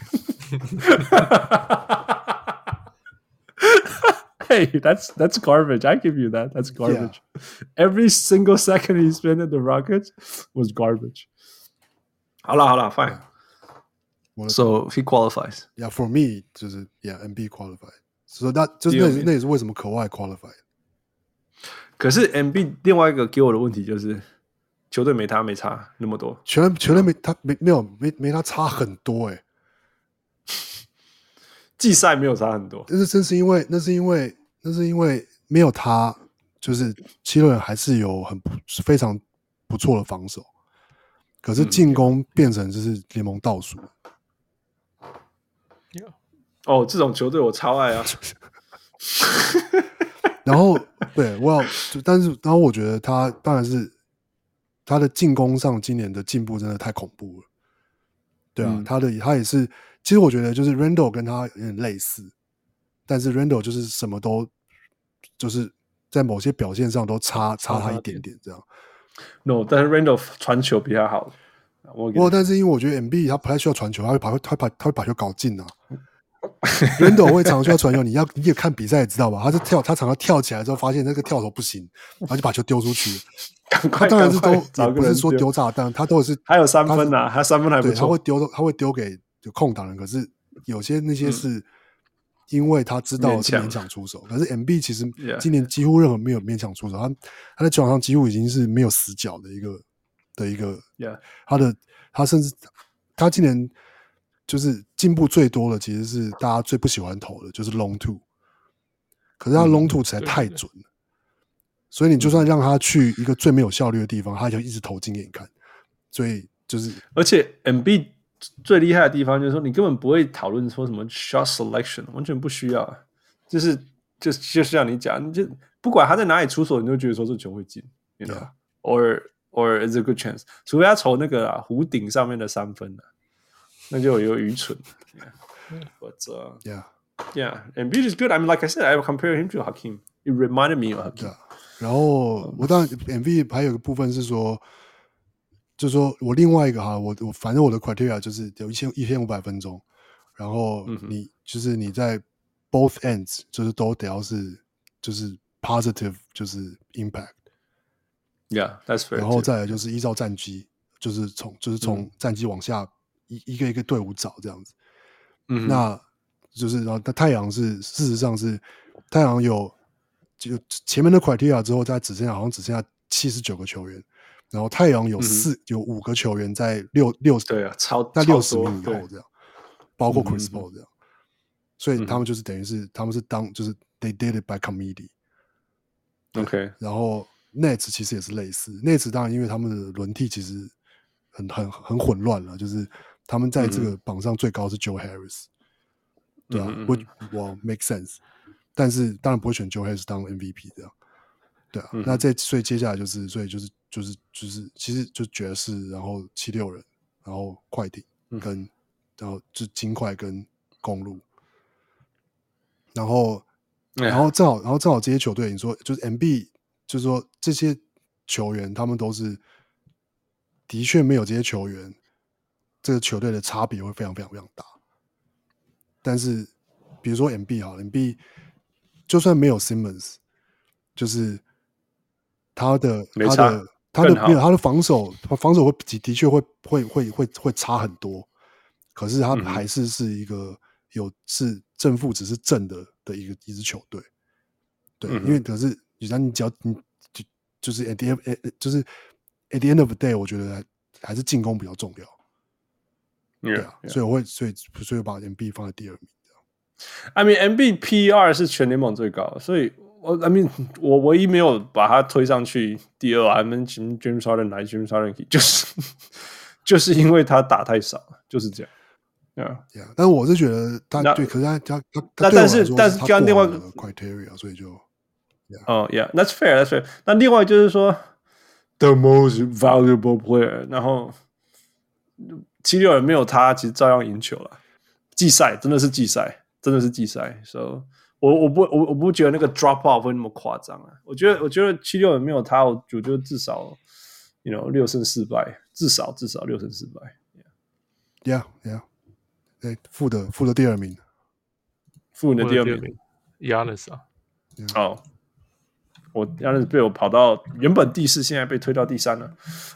Hey, that's that's garbage. I give you that. That's garbage. Yeah. Every single second he spent at the Rockets was garbage. 好了好了 fine. So he qualifies. Yeah, for me 就是 yeah, M B qualified. So that 就是那那也是為什麼可外 qualified。 可是 M B 另外一個給我的問題就是球隊沒他沒差那麼多， 球隊球隊沒他沒沒有沒沒他差很多哎、欸。 季賽沒有差很多， 但是正是因為那是因為那是因為沒有他，就是七六人還是有很非常不錯的防守，可是進攻變成就是聯盟倒數。 嗯、哦，這種球隊我超愛啊。 然後對，我要，但是然後我覺得他當然是他的進攻上今年的進步真的太恐怖了。對啊，嗯、他的他也是。其實我覺得就是 Randle 跟他有點類似，但是 Randle 就是什麼都就是在某些表現上都差差他一點點這樣。 No， 但是 Randle 傳球比他好。我不過但是因為我覺得 M B 他不太需要傳球，他會把他會把他會把球搞進啊。Randle 會常常需要傳球，你要你也看比賽也知道吧？他是跳，他常常跳起來之後發現那個跳投不行，然後就把球丟出去。 趕快， 他當然是都也不是說丟炸彈，他都是還有三分啊，他三分還不錯， 他會丟他會丟給。就空檔人，可是有些那些是因為他知道是勉強出手，可是 M B 其實今年幾乎任何沒有勉強出手，他他在球場上幾乎已經是沒有死角的一個的一個，他的他甚至他今年就是進步最多的，其實是大家最不喜歡投的，就是 long two， 可是他 long two 實在太準了，所以你就算讓他去一個最沒有效率的地方，他就一直投進給你看，所以就是而且 M B。最厲害的地方就是說，你根本不會討論說什麼 shot selection， 完全不需要，就是就就像你講，你就不管他在哪裡出手，你就覺得說這球會進 ，you know， or or is a good chance， 除非他投那個啊弧頂上面的三分啊，那就有愚蠢。Yeah. But uh, yeah, yeah, Embiid is good. I mean, like I said, I compare him to Hakeem. It reminded me of Hakeem. Yeah. 然後我當然 Embiid 還有一個部分是說。 就是說我另外一個哈，我我反正我的 criteria 就是有一千一千五百分鐘，然後你、嗯、就是你在 both ends 就是都得要是就是 positive 就是 impact。Yeah, that's fair. 然後再來就是依照戰績，就是從就是從戰績往下一、嗯、一個一個隊伍找這樣子。嗯，那就是然後太陽是事實上是太陽有就前面的 criteria 之後，再只剩下好像只剩下七十九個球員。然後太陽有四、嗯、有五個球員在六六對啊，超在六十名以後這樣，包括 Chris Paul 這樣、嗯，所以他們就是等於是、嗯、他們是當就是 they did it by committee。OK， 然後 Nets 其實也是類似 ，Nets 當然因為他們的輪替其實很很很混亂了，就是他們在這個榜上最高是 Joe Harris，、嗯、對啊，會、嗯、哇 make sense， 但是當然不會選 Joe Harris 當 M V P 這樣。對啊，嗯、那這所以接下來就是所以就是就是就是其實就爵士，然後七六人，然後快艇跟、嗯、然後就金塊跟公鹿，然後、嗯、然後正好然後正好這些球隊，你說就是 M B， 就是說這些球員他們都是的確沒有這些球員，這個球隊的差別會非常非常非常大。但是比如說 M B 好了 ，M B 就算沒有 Simmons， 就是他的他的他的沒有他的防守，防守會的確會會會會會差很多，可是他還是是一個有是正負值是正的的一個一支球隊，對，嗯、因為可是你你只要你就就是 at the end 就是 at the end of the day， 我覺得還是進攻比較重要， yeah, 對啊， yeah. 所以我會所以所以把 M B 放在第二名這樣。 I mean M B P E R 是全聯盟最高的，所以。我 I mean 我唯一沒有把他推上去第二 I mean James Harden 來 James Harden 就是就是因為他打太少，就是這樣。Yeah, yeah, 但是我是覺得他對，可是他他他，他但是但是剛另外一個 criteria， 所以就， 哦、yeah. oh, yeah, that's fair, that's fair。那另外就是說 the most valuable player， 然後七六人沒有他，其實照樣贏球了。季賽真的是季賽，真的是季賽，所以。So, 我我不我我不覺得那個 drop off 會那麼誇張啊！我覺得我覺得七六人沒有他，我我覺得至少 ，you know 六勝四敗，至少至少六勝四敗。 Yeah, yeah， 對，負的負的第二名， 負的第二名 ，Giannis 啊， 哦，我 Giannis 被我跑到原本第四，現在被推到第三了。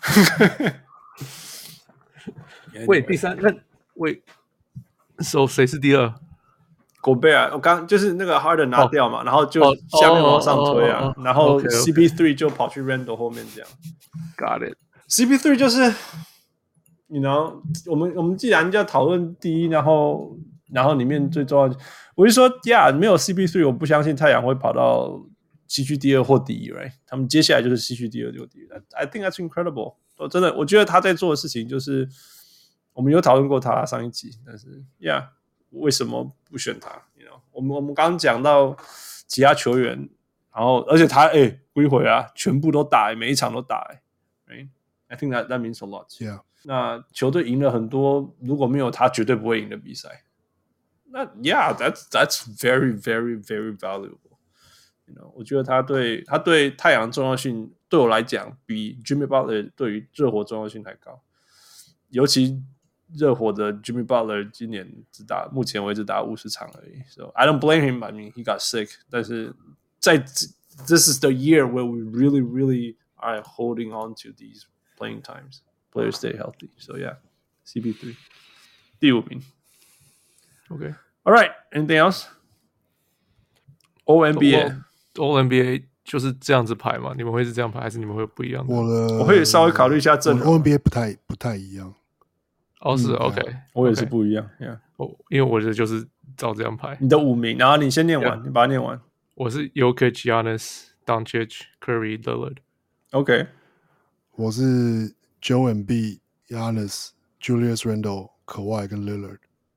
喂，第三那喂，所以誰是第二？ 狗貝爾，我剛就是那個 Harden 拿掉嘛， oh, 然後就下面往上推啊， oh, oh, oh, oh, 然後 C P 三 okay, okay. 就跑去 Randle 後面這樣。 Got it. C P 三 就是，you know， 我們我們既然要討論第一，然後然後裡面最重要的，我就說呀， yeah, 沒有 C P 三，我不相信太陽會跑到西區第二或第一 ，right？ 他們接下來就是西區第二就第一。I think that's incredible。我真的，我覺得他在做的事情就是，我們有討論過他上一集，但是呀。Yeah, 為什麼不選他 you know? 我們我們剛剛講到其他球員，然後而且他哎歸回啊，全部都打，每一場都打，right? I think that that means a lot. Yeah. 那球隊贏了很多，如果沒有他，絕對不會贏的比賽。那 Yeah, that's that's very very very valuable. You know, 我覺得他對他對太陽重要性，對我來講，比 Jimmy Butler 對於熱火重要性還高，尤其。熱火的 Jimmy Butler 今年只打，目前為止打五十場而已。So I don't blame him. I mean, he got sick. 但是在 this is the year where we really, really are holding on to these playing times. Players stay healthy. So yeah, C P 三 第五名。 Okay. All right. Anything else? All N B A. All N B A 就是這樣子排嗎？你們會是這樣排，還是你們會有不一樣的？ 我的我會稍微考慮一下陣容。 All N B A 不太不太一樣。 哦，是 OK， 我也是不一樣 ，Yeah， 哦，因為我的就是照這樣排。 你的五名，然後你先念完， yeah. 你把它念完。 我是 Jokic, Giannis, Doncic, Curry, Lillard。OK， 我是 Joel Embiid, Giannis, Julius Randle, Kawhi 跟 Lillard。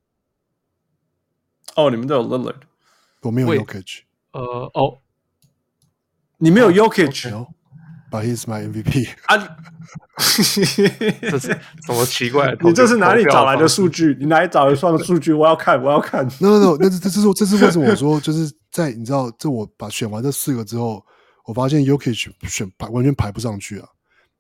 哦，你們都有 Lillard， 我沒有 Jokic。 呃，哦， 你沒有 Jokic。 Oh, But he's my M V P 啊！ 這是什麼奇怪的？ 你這是哪裡找來的數據？你哪裡找來的數據？我要看，我要看。 No No No， 那這這是這是為什麼我說就是在你知道，這我把選完這四個之後，我發現 Jokic 選排完全排不上去啊。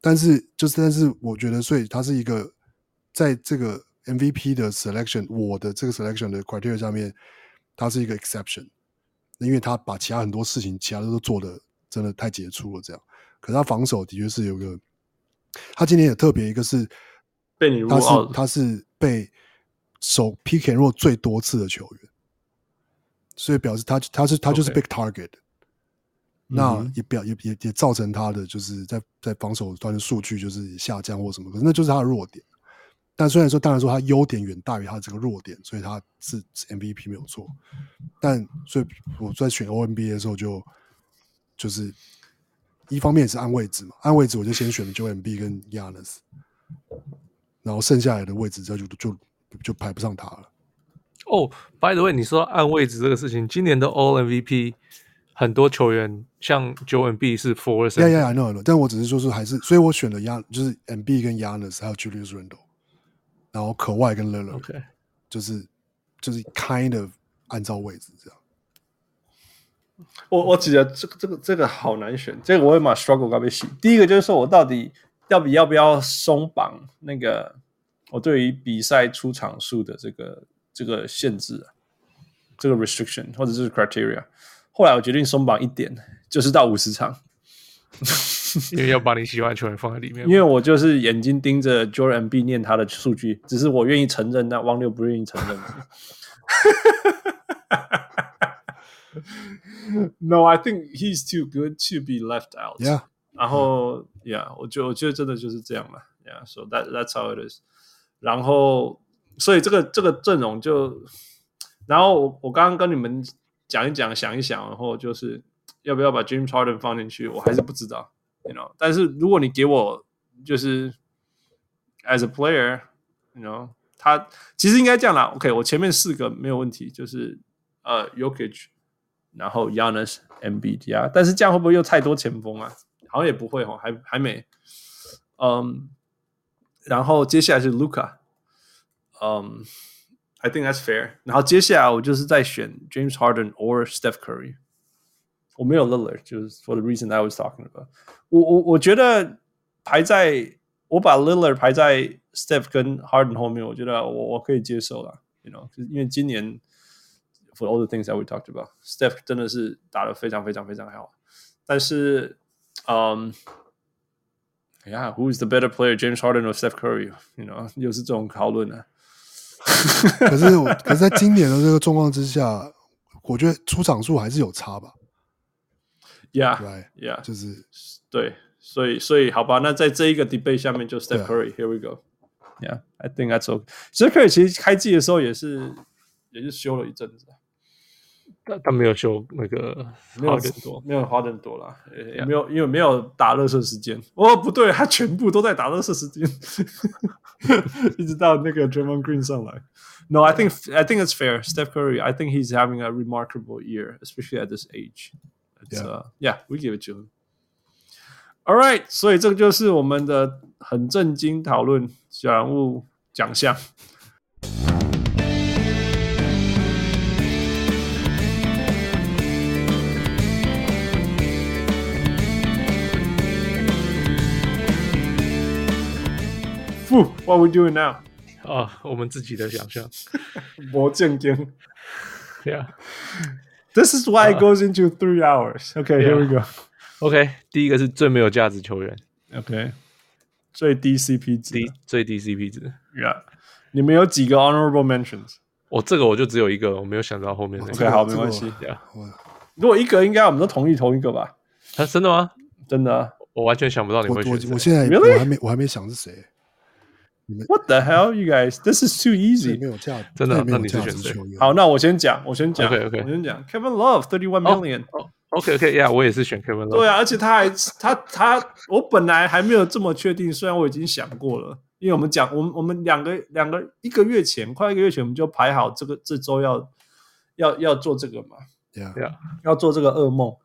但是就是但是我覺得，所以他是一個在這個 M V P 的 selection， 我的這個 selection 的 criteria 上面，他是一個 exception， 因為他把其他很多事情，其他都做的真的太傑出了，這樣。可是他防守的確是有個，他今年也特別一個是被你 rule 他 out， 是他是被守 pick and roll 最多次的球員，所以表示他他是他就是 big target，、okay. 那也表也也也造成他的就是在在防守端的數據就是下降或什麼，可是那就是他的弱點。但雖然說，當然說他優點遠大於他這個弱點，所以他是 M V P 沒有錯。但所以我在選 O N B A 的時候就，就就是一方面也是按位置嘛，按位置我就先選了 Joel Embiid 跟 Giannis， 然後剩下來的位置就就就就排不上他了。 哦、oh, ，By the way， 你說按位置這個事情，今年的 All M V P 很多球員像 Joel Embiid 是 forward， yeah yeah I know I know， 但我只是說是還是，所以我選了 Gian 就是 Embiid 跟 Giannis 還有 Julius Randle。然後可外跟 Lillard，、 okay. 就是就是 kind of 按照位置這樣。 我我覺得這個這個這個好難選，這個我也蠻 struggle 到被洗。第一個就是說我到底到底要不要鬆綁那個我對於比賽出場數的這個這個限制啊，這個 restriction 或者是 criteria。後來我決定鬆綁一點，就是到五十場。 因為要把你喜歡的球員放在裡面， 因為我就是眼睛盯着 Joel Embiid 念他的數據，只是我願意承認，但汪六不願意承認。No, I think he's too good to be left out. Yeah. 然後 ，Yeah， 我覺得我覺得真的就是這樣了。Yeah, so that that's how it is. 然後，所以這個這個陣容就，然後我我剛剛跟你們講一講，想一想，然後就是要不要把 James Harden 放進去，我還是不知道。You know, 但是如果你給我就是 as a player, you know, 他其實應該這樣啦。OK， 我前面四個沒有問題，就是呃 Jokic， 然後 Giannis、Embiid 呀。但是這樣會不會又太多前鋒啊？好像也不會哦，還還沒。嗯，然後接下來是 Luka， 嗯 ，I think that's fair。然後接下來我就是在選 James Harden or Steph Curry。我沒有 Lillard， 就是 for the reason I was talking about 我。我我我覺得排在我把 Lillard 排在 Steph 跟 Harden 後面，我覺得我我可以接受啦 you know， 因為今年 for all the things that we talked about， Steph 真的是打得非常非常非常好。但是，嗯、um, ，Yeah，who is the better player, James Harden or Steph Curry？ You know， 又是這種討論啊。 可是我，可是在今年的這個狀況之下，我覺得出場數還是有差吧。 Yeah, right, yeah， 就是對，所以所以好吧，那在這一個 debate 下面就 Steph Curry，Here we go. Yeah, I think that's okay. Steph Curry 其實開季的時候也是也是休了一陣子， 但他沒有休那個沒有花點多， 沒有花點多啦，也 Yeah. 沒有因為沒有打垃圾時間。哦，不對，他全部都在打垃圾時間，一直到那個 Draymond Green 上來。No, I think I think it's fair. Steph Curry, I think he's having a remarkable year, especially at this age. It's, yeah. Uh, yeah, we give it to him. All right, 所以這個就是我們的很震驚討論小人物獎項。Whew, what are we doing now? 啊，我們自己的想象。 魔劍劍 Yeah. This is why it goes into three hours. Okay, yeah. here we go. OK， 第一個是最沒有價值球員。 OK， 最低 C P 值， 低最低 C P 值。 Yeah， 你們有幾個 honorable mentions？ 我這個我就只有一個，我沒有想到後面那個。 OK， 好，沒關係。 Yeah. 如果一個，應該我們都同意同一個吧？ 啊，真的嗎？ 真的、啊， 我完全想不到你會選誰。 我我我現在 Really? 我還沒我還沒想是誰。 What the hell, you guys? This is too easy. 沒有價值， 真的、啊？ 沒有那你是選誰？ 好，那我先講，我先講。 OK OK， 我先講 Kevin Love thirty-one million。 哦 OK OK，Yeah， 我也是選 Kevin Love。 對啊，而且他還他他，我本來還沒有這麼確定，雖然我已經想過了，因為我們講，我們我們兩個兩個一個月前，快一個月前，我們就排好這個這週要要要做這個嘛。 Yeah. Yeah. 要做這個噩夢，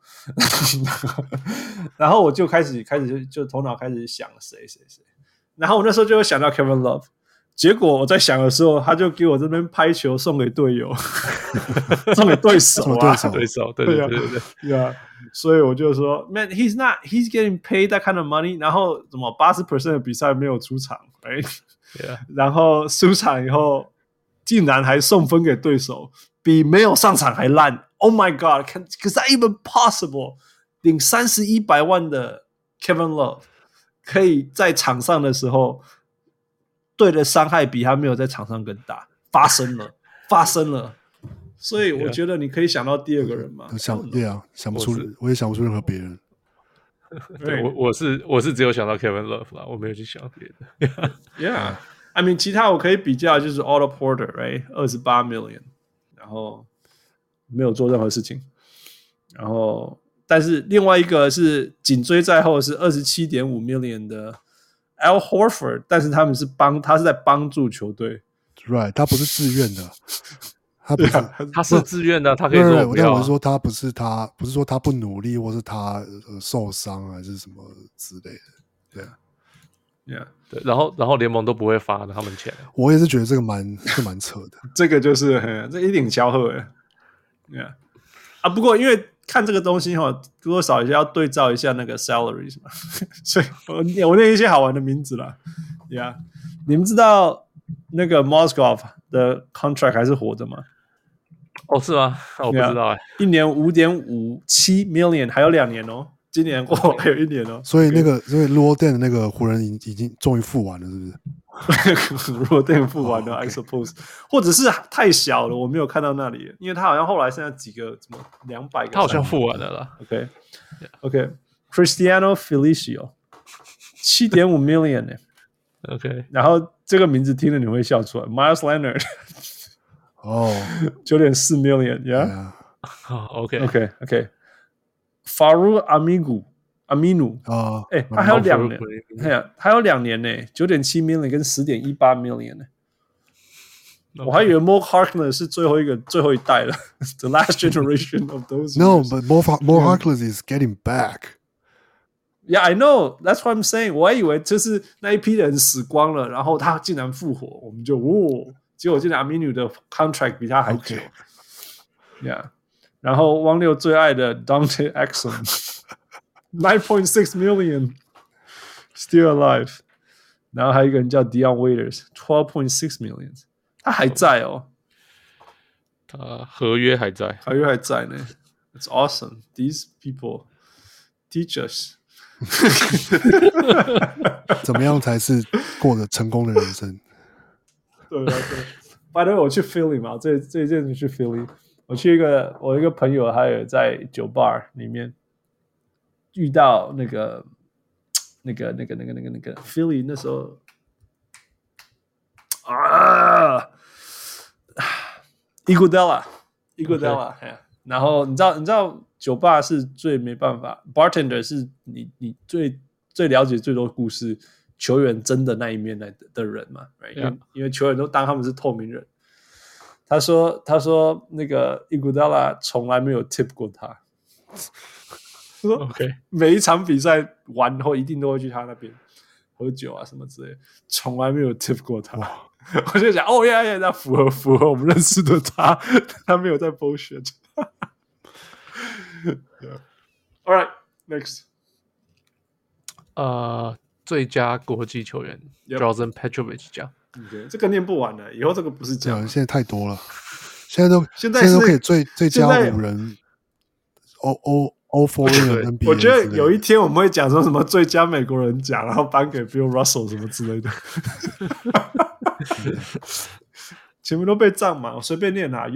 然後我就開始開始就就頭腦開始想誰誰誰，然後我那時候就會想到 Kevin Love， 結果我在想的時候，他就給我這邊拍球送給隊友，送給對手啊， 對手，對對對對對， 對啊。所以我就說 ，Man, he's not, he's getting paid that kind of money。然後什麼八十 percent 的比賽沒有出場，哎、 yeah. 然後輸場以後，竟然還送分給對手，比沒有上場還爛。Oh my God, can, is that even possible？ 領三十一百萬的 Kevin Love 可以在場上的時候，對的傷害比他沒有在場上更大，發生了，發生了。所以我覺得你可以想到第二個人嘛？ 想對啊，想不出，我, 我也想不出任何別人。 對，我我是我是只有想到 Kevin Love 啦，我沒有去想別的。 Yeah, I mean 其他我可以比較就是 Otto Porter, right? 二十八 million， 然後沒有做任何事情。然後，但是另外一個是緊追在後是 二十七點五 million 的 Al Horford， 但是他們是幫他是在幫助球隊 ，right？ 他不是自願的。他不是， 他是自願的，他可以說不要、啊。 但我是說，他不是他，不是說他不努力，或是他、呃、受傷還是什麼之類的，對啊， yeah. 對。然後，然後聯盟都不會發他們錢。 我也是覺得這個蠻，是蠻扯的。 這個就是這一頂巧合哎，yeah. 啊，不過因為看這個東西哈，多多少少要對照一下那個 salaries 嘛，所以我念我念一些好玩的名字啦，呀、yeah. 你們知道那個 Mozgov 的 contract 還是活着嗎？ 哦，是嗎？我不知道哎、欸。 一年五點五七 million， 還有兩年哦。今年過、哦、還有一年哦。 所以那個，所以 Luol Deng 的那個湖人已已經終於付完了，是不是 ？Luol Deng 付完了、oh, okay. ，I suppose， 或者是太小了，我沒有看到那裡，因為他好像後來剩下幾個什麼兩百個， 他好像付完了啦。 OK，OK，Cristiano Felicio 七點五 million 呢。 OK， 然後這個名字聽了你會笑出來 ，Miles Leonard。 哦， 九點四 million，yeah。OK，OK，OK。Farouk Aminu，Aminu 啊， 哎，他還有兩年，哎呀，還有兩年呢，九點七 million 跟十點一八 million 呢。我還以為 Mo Harkless 是最後一個最後一代了 ，the last generation of those. No, but Mo Mo Harkless is getting back. Yeah, I know. That's what I'm saying. 我還以為就是那一批人死光了，然後他竟然復活，我們就哦。結果現在 Aminu 的 contract 比他還久 okay. Yeah. 然後汪六最愛的 Dante Exum nine point six million still alive. 然後還有一個人叫 Dion Waiters twelve point six million， 他還在哦， 他合約還在， 合約還在呢。It's awesome. These people teach us 怎麼樣才是過着成功的人生。 對啊，對。By the way， 我去 Philly 嘛，這這一陣子去 Philly， 我去一個我一個朋友，他有在酒吧裡面遇到那個那個那個那個那個那個 Philly 那時候啊 ，Iguodala Iguodala， 然後你知道你知道酒吧是最沒辦法 ，bartender 是你你最最了解最多故事。球員真的那一面的的人嘛 right? 因為， yeah. 因為球員都當他們是透明人。他說：“他說那個 Iguodala 從來沒有 tip 過他。他說 OK， 每一場比賽完後一定都會去他那邊喝酒啊什麼之類的，從來沒有 tip 過他。我就想，哦呀呀，那符合符合我們認識的他，他沒有在 bullshit。yeah. All right, next， 呃、uh,。最佳國際球員 Drazen Petrovic 獎， 這個念不完了，以後這個不是獎， 現在太多了，現在都現在現在都可以最最佳五人 ，O O O four N B A。 我覺得有一天我們會講說什麼最佳美國人獎，然後頒給 Bill Russell 什麼之類的，全部都被占滿，我隨便念啊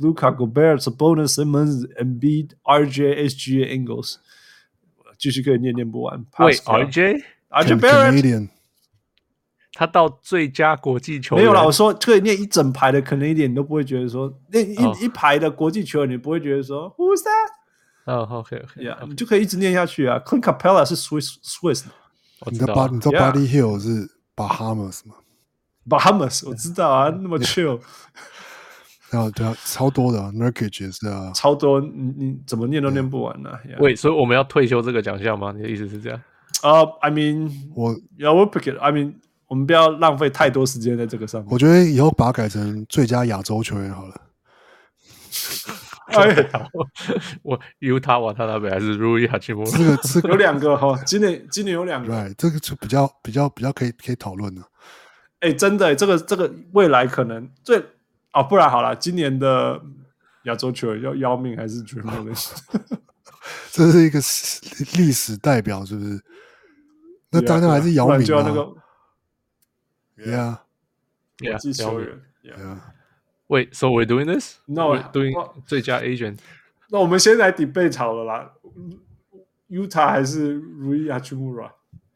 ，Jokic、Luka、Gobert、Sabonis、Simmons、Embiid、R J、S G A、Ingles， 繼續可以念念不完。 喂 ，R J。R J Barrett， 他到最佳國際球員沒有啦。我說可以念一整排的 Canadian， 你都不會覺得說念一、oh. 一排的國際球員，你不會覺得說 Who's that？ 哦、oh, ，OK OK， yeah, okay. 你就可以一直念下去啊。Clint Capella 是 Swiss Swiss， 你知道你知道 Buddy Hield 是 Bahamas 嗎 ？Bahamas 我知道啊，那麼 chill。 然後對啊，超多的、啊、Nurkic 也是啊， 超多，你你怎麼念都念不完呢、啊。 喂、yeah. ，所以我們要退休這個獎項嗎？你的意思是這樣？ Uh, I mean, 我 yeah, we'll pick it. I mean, 我們不要浪費太多時間在這個上面。 我覺得以後把它改成最佳亞洲球員好了。 哎， 我猶他瓦塔納貝還是路易哈奇莫？ 這個這個有兩個哈，今年今年有兩個， 對，這個就比較比較比較可以可以討論了。 哎，真的，這個這個未來可能最哦，不然好了，今年的亞洲球員要要命還是絕命的？ 這是一個歷史代表，是不是？那當然還是姚明啊。 就要那個 ，Yeah， 國際球員 ，Yeah。Wait, so we're doing this? No, we're doing 最佳 agent。 那我們先來 debate 好了啦。Utah 還是 Rui Hachimura？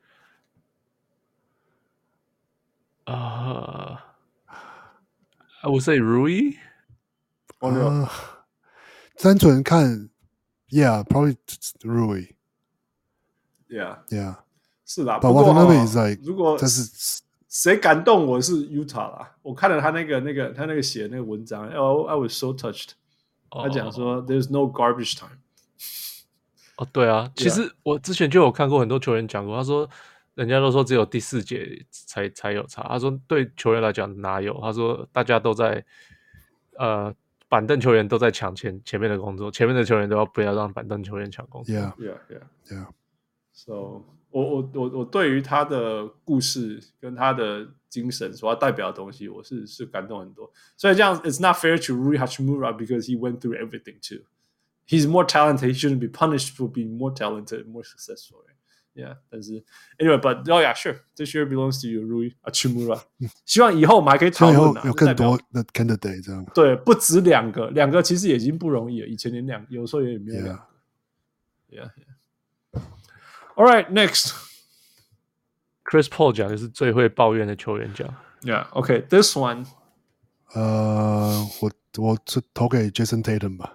Uh, I would say Rui。 哦，没有。 单純看 ，Yeah, probably Rui。 Yeah, yeah， 是啦。 不過如果但是誰感動我是 Utah 啦。我看了他那個那個他那個寫的那個文章，哦、oh, ，I was so touched。他講說 ，There's no garbage time。 哦，對啊，其實我之前就有看過很多球員講過，他說人家都說只有第四節才才有差，他說對球員來講哪有？他說大家都在呃板凳球員都在搶前前面的工作，前面的球員都要不要讓板凳球員搶工作。 Yeah, yeah, yeah, yeah. So 我我我我對於他的故事跟他的精神所要代表的東西，我是是感動很多。所以這樣 ，It's not fair to Rui Hachimura because he went through everything too. He's more talented. He shouldn't be punished for being more talented, more successful. Yeah, 但是 anyway, but oh yeah, sure. This year belongs to you, Rui Hachimura. 希望以後我們還可以討論、啊， 有更多的 candidate 這樣。 對，不止兩個，兩個其實也已經不容易了。以前連兩，有時候也沒有兩個。Yeah, yeah. All right, next. Chris Paul 獎就是最會抱怨的球員獎。 Yeah, okay. This one. 呃，我我是投給 Jason Tatum 吧。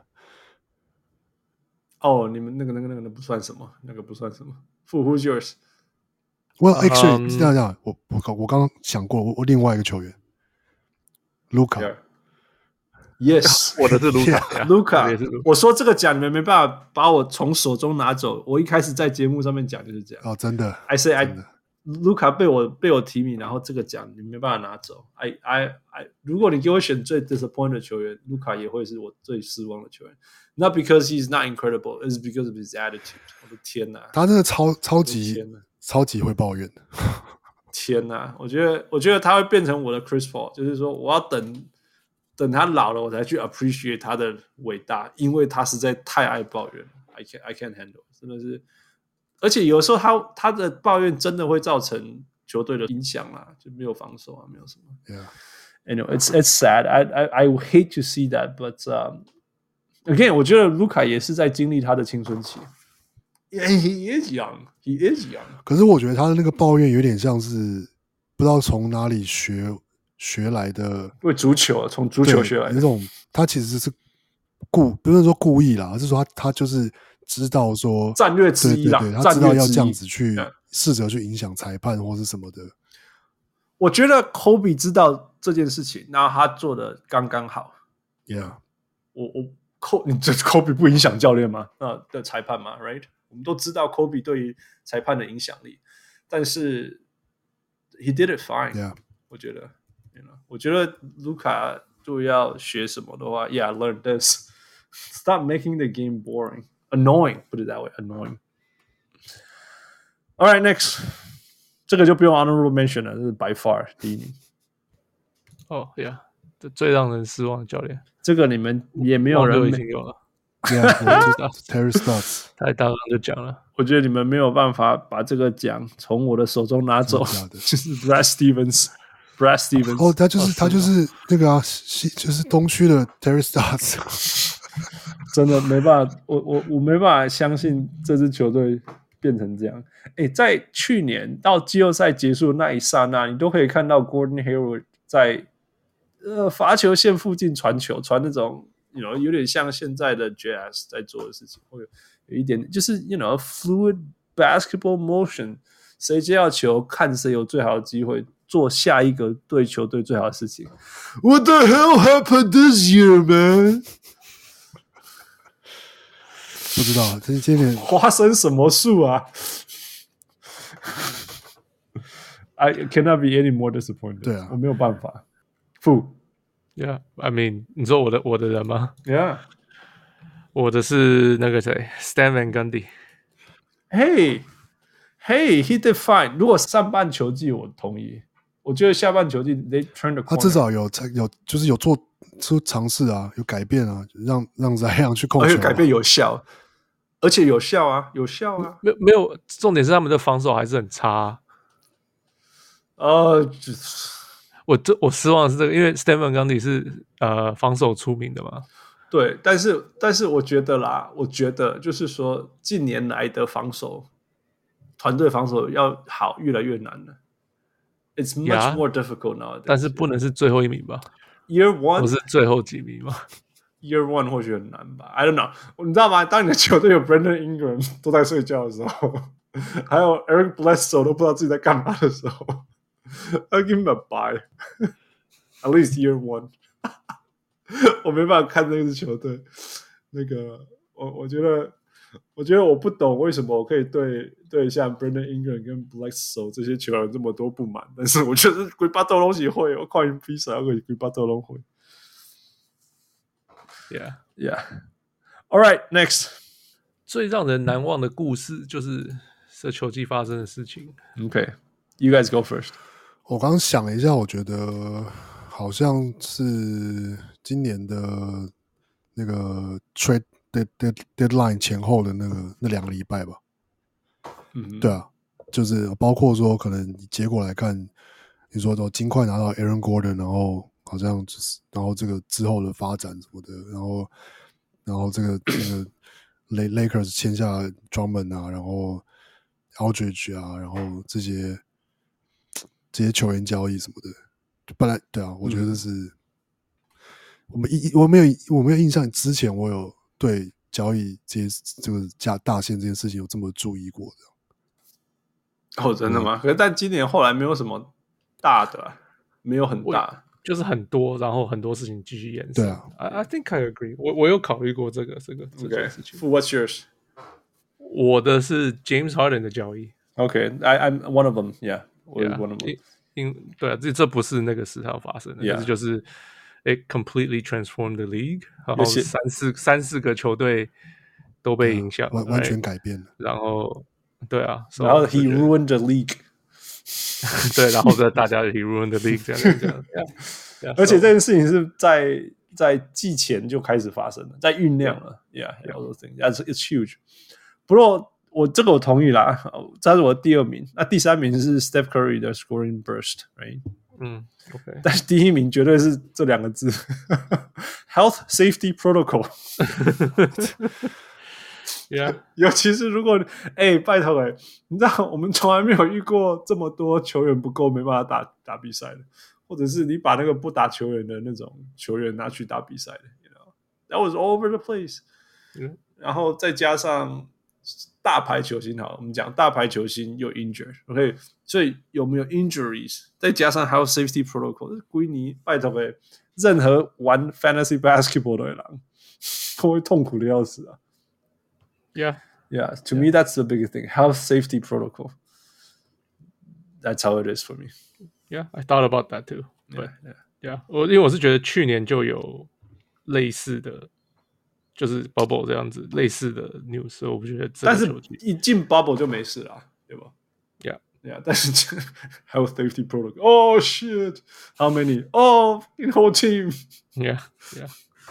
哦，你們那個那個那個那不算什麼，那個不算什麼。Who's yours? Well, actually，是這樣講，我我我剛剛想過，我我另外一個球員，Luka。 Yes， 我的是 Luka。Luka，我說這個獎你們沒辦法把我從手中拿走。我一開始在節目上面講就是這樣。 哦，真的。 I say I Luka 被我被我提名，然後這個獎你沒辦法拿走。I I I， 如果你給我選最 disappointed 的球員，Luka 也會是我最失望的球員。Not because he's not incredible, it's because of his attitude. 我的天哪， 他真的超超級超級會抱怨的。 天哪，我覺得我覺得他會變成我的 Chris Paul， 就是說我要等等他老了，我才去 appreciate 他的偉大，因為他實在太愛抱怨了。I can't I can't handle， 真的是，而且有時候他他的抱怨真的會造成球隊的影響啦，就沒有防守啊，沒有什麼。Yeah, anyway, it's it's sad. I I I hate to see that, but um.Again， 我覺得盧卡也是在經歷他的青春期。Yeah, he is young. He is young. 可是我覺得他的那個抱怨有點像是不知道從哪裡學學來的。 因為足球，從足球學來的那種，他其實是故不是說故意啦，而是說他他就是知道說戰略之一啦， 對對對，他知道要這樣子去試着去影響裁判或是什麼的。 我覺得 Kobe 知道這件事情，然後他做的剛剛好。 Yeah， 我我。你這 Kobe 不影響教練嗎？啊的裁判嗎 ？Right？ 我們都知道 Kobe 對於裁判的影響力，但是 he did it fine。Yeah， 我覺得 ，you know， 我覺得盧卡如果要學什麼的話 ，Yeah， learn this. Stop making the game boring, annoying. Put it that way, annoying. All right, next， 這個就不用 honorable mention 了，這是 by far 第一名。 哦、oh, ，Yeah， 這最讓人失望的教練。這個你們也沒有人已經有了 ，Terry Stotts 他剛剛就講了。 我覺得你們沒有辦法把這個獎從我的手中拿走，就是 Brad Stevens，Brad Stevens。 哦，他就是他就是那個啊，就是東區的 Terry Stotts。 真的沒辦法，我我我沒辦法相信這支球隊變成這樣。哎，在去年到季後賽結束的那一剎那，你都可以看到 Gordon Hayward 在。呃，罰球線附近傳球，傳那種 ，you know， 有點像現在的 Jazz 在做的事情，會有有一點，就是 you know fluid basketball motion， 誰接到球，看誰有最好的機會做下一個對球隊最好的事情。What the hell happened this year, man？ 不知道，這今年發生什麼樹啊 I cannot be any more disappointed. 对啊， 我没有办法。Fu Yeah, I mean， 你说我的我的人嗎 ？Yeah， 我的是那個誰 ，Stan Van Gundy。Hey, hey, he did fine. 如果上半球季我同意，我覺得下半球季 they turned the corner。 他至少有有就是有做出嘗試啊，有改變啊，讓讓 Zion 去控球、啊， 而且改變有效，而且有效啊，有效啊。 沒有沒有，重點是他們的防守還是很差、啊。 呃， 我這我失望的是這個，因為 Stan Van Gundy 是呃防守出名的嘛。 對，但是但是我覺得啦，我覺得就是說近年來的防守團隊防守要好越來越難了。It's much yeah, more difficult now. 但是不能是最後一名吧 ？Year one 不是最後幾名嗎 ？Year one 或許很難吧 ？I don't know。你知道嗎？當你的球隊有 Brandon Ingram 都在睡覺的時候，還有 Eric Bledsoe 都不知道自己在幹嘛的時候，I'll give him a bye. At least year one 。我沒辦法看這支球隊。那個，我我覺得，我覺得我不懂為什麼我可以對對像 Brandon Ingram 跟 Bledsoe 這些球員這麼多不滿，但是我覺得規巴都東西會，我看比賽我規巴都東會。 Yeah, yeah. All right, next. 最讓人難忘的故事就是這球季發生的事情。 Okay, you guys go first. 我剛剛想了一下，我覺得好像是今年的那個 trade deadline 前後的那個那兩個禮拜吧。嗯，對啊，就是包括說可能結果來看，你說都盡快拿到 Aaron Gordon， 然後好像就是然後這個之後的發展什麼的，然後然後這個這個 Lakers 簽下 Drummond 啊，然後 Aldridge 啊，然後這些這些球員交易什麼的，本來對啊，我覺得這是、嗯、我們一我沒有我沒有印象，之前我有對交易這些這個加大線這件事情有這麼注意過的。 哦，真的嗎？可是但今年後來沒有什麼大的、啊，沒有很大， 就是很多，然後很多事情繼續延伸。 對啊 I, I think I agree 我。我我有考慮過這個這個這件事情。 Okay. What's yours？ 我的是 James Harden 的交易。 Okay, I, I'm one of them. Yeah, yeah. one of them. 因, 因對啊，這這不是那個時候發生的， yeah. 就是就是 it completely transformed the league， 然後三四三四個球隊都被影響， 完完全改變了。 然後對啊， 然後 he ruined the league。 對，然後大家 he ruined the league 這樣這樣。Yeah, yeah, 而且這件事情是在在季前就開始發生了，在醞釀了。Yeah, yeah, all those things. That's it's huge. 不過我這個我同意啦，這是我的第二名。那第三名是 Steph Curry 的 scoring burst, right? 嗯 ，OK。 但是第一名絕對是這兩個字 ，health safety protocol 。 Yeah. 尤其是如果哎、欸，拜託哎，你知道我們從來沒有遇過這麼多球員不夠沒辦法打打比賽的，或者是你把那個不打球員的那種球員拿去打比賽的 ，you know, that was all over the place、嗯。然後再加上大牌球星，好，我們講大牌球星又 injured，OK，、okay? 所以有沒有 injuries？ 再加上還有 safety protocol， 歸你拜託哎，任何玩 fantasy basketball 的人都會痛苦的要死啊。 Yeah, yeah. To yeah. me, that's the biggest thing. Health safety protocol. That's how it is for me. Yeah, I thought about that too. But yeah, yeah. 我因為我是覺得去年就有類似的，就是 bubble 這樣子類似的 news， 所以我不覺得這個。 但是一進 bubble 就沒事了，對吧 ？Yeah, yeah. 但是 health safety protocol. Oh shit! How many? Oh, in whole team. Yeah, yeah.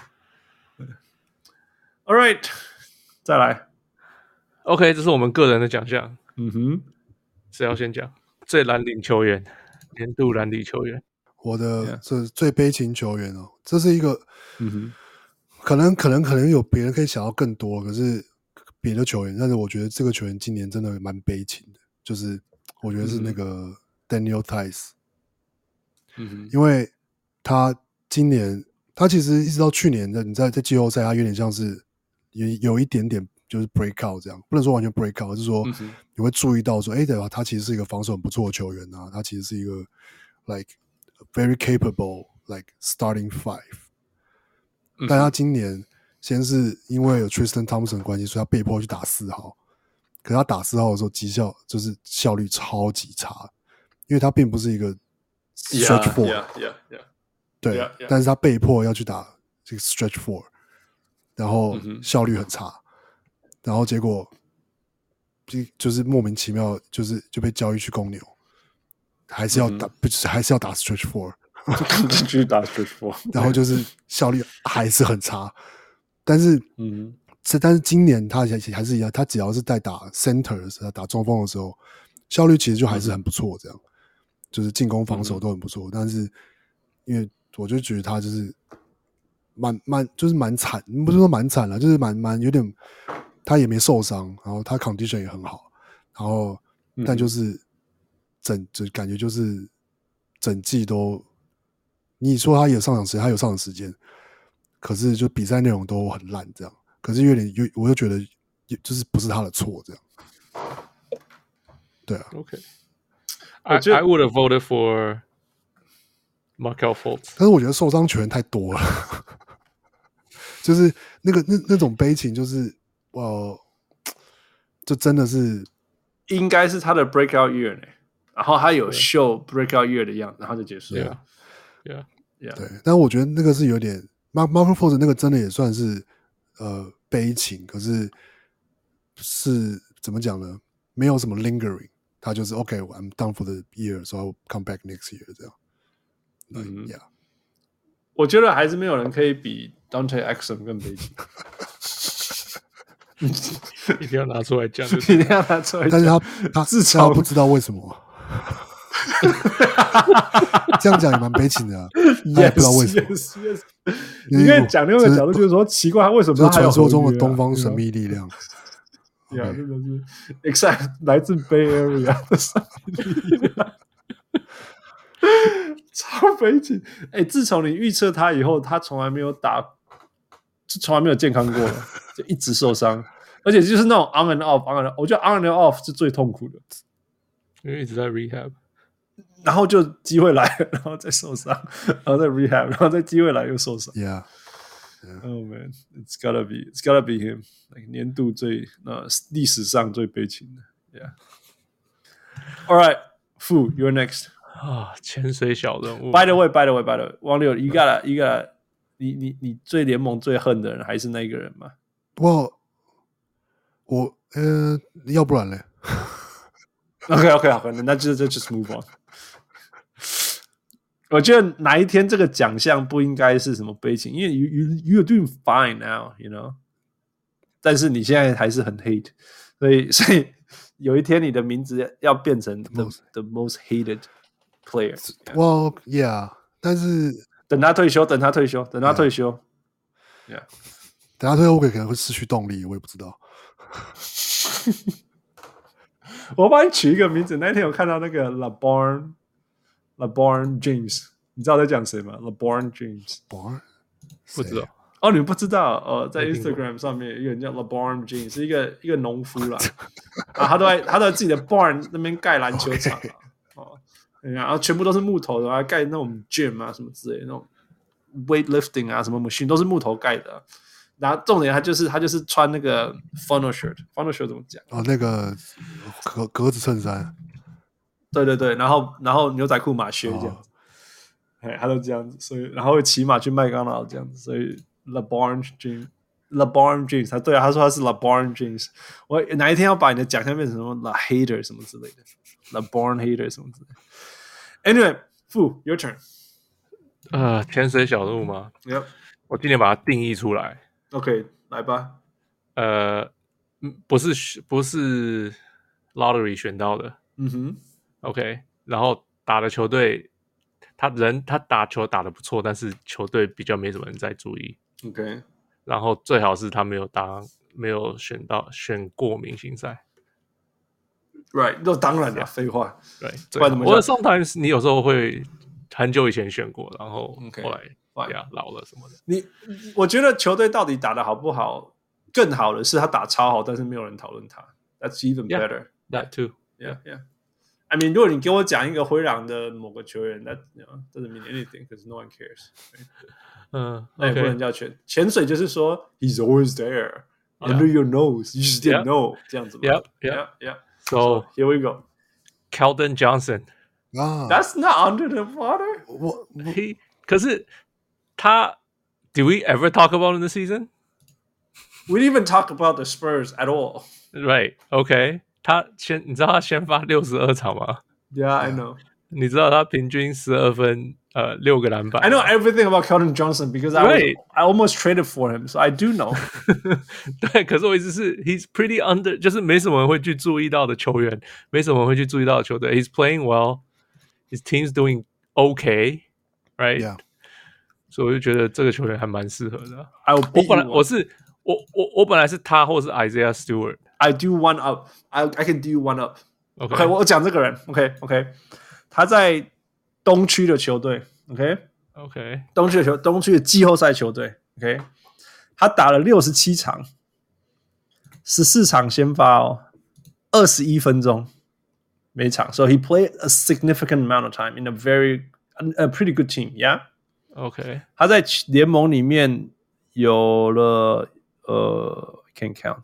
All right. 再來。 OK， 这是我們個人的獎項。 嗯哼， 誰要先講？最藍領球員，年度藍領球員。 我的這最悲情球員哦，這是一個， 嗯哼， 可能可能可能有別人可以想要更多，可是別的球員，但是我覺得這個球員今年真的蠻悲情的，就是我覺得是那個 Daniel Theis， 嗯哼， 因為他今年他其實一直到去年的你在在季後賽，他有點像是有有一點點。就是 break out 這樣，不能說完全 break out，就是說你會注意到說，哎、欸，對吧？他其實是一個防守很不錯的球員啊，他其實是一個 like very capable like starting five，、嗯、但他今年先是因為有 Tristan Thompson 的關係，所以他被迫去打四號，可是他打四號的時候績效就是效率超級差， 因為他並不是一個 stretch four， yeah, yeah, yeah, 對 yeah, yeah. 但是他被迫要去打這個 stretch four， 然後效率很差，嗯、然後結果就就是莫名其妙，就是就被交易去公牛，還是要打，嗯、不是還是要打 stretch four， 繼續打 stretch four， 然後就是效率還是很差，但是嗯。但是今年他還是一樣，他只要是在打 center 的時候，打中鋒的時候，效率其實就還是很不錯，這樣，嗯、就是進攻防守都很不錯。嗯、但是因為我就覺得他就是蠻蠻就是蠻慘，不是說蠻慘了，就是蠻蠻有點，他也沒受傷，然後他 condition 也很好，然後但就是整就感覺就是整季都，你說他有上場時間，他有上場時間，可是就比賽內容都很爛，這樣。可是有點，有我又覺得，就是不是他的錯，這樣。對啊。 OK。I I would have voted for Markelle Fultz， 但是我覺得受傷球員太多了，就是那個那那種悲情，就是呃，就真的是應該是他的 breakout year 呢，然後他有 show breakout year 的樣子，然後就結束了。 Yeah, yeah. 對，但我覺得那個是有點 Markelle Fultz 那個真的也算是。呃，悲情，可是是怎麼講呢？沒有什麼 lingering， 他就是 OK，I'm、okay, done for the year， so I'll come back next year 這樣。嗯呀， yeah. 我覺得還是沒有人可以比 Dante Exum 更悲情。 一定要拿出來講， 一定要拿出來講。 但是他他自嘲不知道為什麼。這樣講也蠻悲情的、啊， yes, 他也不知道為什麼。 Yes, yes, yes. 你可以講另外一個角度，就是說奇怪，他為什麼他還有傳說中的東方神秘力量？ 呀，真的是 ，exact 來自 Bay Area 的神秘力量，超悲情。哎、欸，自從你預測他以後，他從來沒有打，就從來沒有健康過了，就一直受傷，而且就是那種 on and off，on and off， 我覺得 on and off 是最痛苦的， 因為一直在 rehab。 然後就機會來了，然後再受傷，然後再 rehab， 然後再機會來又受傷。 Yeah, yeah. Oh man, it's gotta be, it's gotta be him. Like 年度最呃歷史上最悲情的。Yeah. All right, Fu, you're next. 啊，潛水小人物。 By the way, by the way, by the way, 王六，一個一個，你你你最聯盟最恨的人還是那一個人嗎？ 我我呃，要不然嘞 ？OK OK 好，那就就 just move on。我覺得哪一天這個獎項不應該是什麼悲情，因為 you you you're doing fine now, you know。但是你現在還是很 hate， 所以所以有一天你的名字要變成 the the most hated player。Well, yeah， 但是等他退休，等他退休，等他退休 ，yeah，, yeah. 等他退休，我可能會失去動力，我也不知道。 我幫你取一個名字，那天我看到那個 LeBron LeBron James， 你知道我在講誰嗎 ？LeBron James， 不知道。 哦，你們不知道？呃，在 Instagram 上面有一個人叫 LeBron James， 是一個一個農夫啦。啊，他都在他都在自己的 barn 那邊蓋籃球場啊， okay. 哦，然後全部都是木頭的，還蓋那種 gym 啊什麼之類的，那種 weightlifting 啊什麼 machine 都是木頭蓋的、啊。然後重點他就是他就是穿那個 funnel shirt，funnel shirt 怎麼講？ 哦，那個格格子襯衫。 對對對，然後然後牛仔褲馬靴這樣子，哎、哦，他都這樣子，所以然後會騎馬去麥當勞這樣子，所以 LeBron James，LeBron James， 他對啊，他說他是 LeBron James， 我哪一天要把你的獎項變成什麼 The Hater 什麼之類的 ，LeBron Hater 什麼之類的。Anyway， Fu your turn。 呃，潛水小人物嗎？ Yep， 我今天把它定義出來。 OK， 來吧。 呃，不是不是 lottery 選到的。 嗯哼。 OK， 然後打的球隊，他人他打球打得不錯，但是球隊比較沒什麼人在注意。 OK， 然後最好是他沒有當沒有選到選過明星賽。 Right， 那當然了，廢話。 對，我 sometimes 你有時候會很久以前選過，然後後來呀老了什麼的。 你我覺得球隊到底打得好不好，更好的是他打超好，但是沒有人討論他。That's even better. Yeah, that too. Yeah, yeah.I mean, 如果你給我講一個灰狼的某個球員，那 you know, doesn't mean anything because no one cares. Right? 嗯， 那也不能叫潛潛水，就是說 he's always there under your nose, you just didn't know 這樣子嘛。 Yeah, yeah, yeah. So here we go. Keldon Johnson. 啊 That's not under the water. 我我 He 可是他 ，Do we ever talk about in the season? We didn't even talk about the Spurs at all. Right? OK， 他先，你知道他先發六十二場嗎 Yeah, I know. 你知道他平均十二分，呃，六個籃板。 I know everything about Keldon Johnson because I Right. was, I almost traded for him, so I do know. 对，可是我意思是 ，He's pretty under，就是沒什麼人會去注意到的球員，沒什麼人會去注意到的球隊。He's playing well, his team's doing okay, right? Yeah. 所以我就覺得這個球員還蠻適合的。 I will 我 beat 本來 you 我 up. 是我我我本來是他或是 Isaiah Stewart。 I do one up. I I can do you one up. OK，, OK， 我講這個人。OK OK， 他在東區的球隊。OK OK， 東區的球東區的季後賽球隊。OK， 他打了六十七場，十四場先發哦，二十一分鐘每場。So he played a significant amount of time in a very a pretty good team. Yeah. OK， 他在聯盟裡面有了呃 ，can't count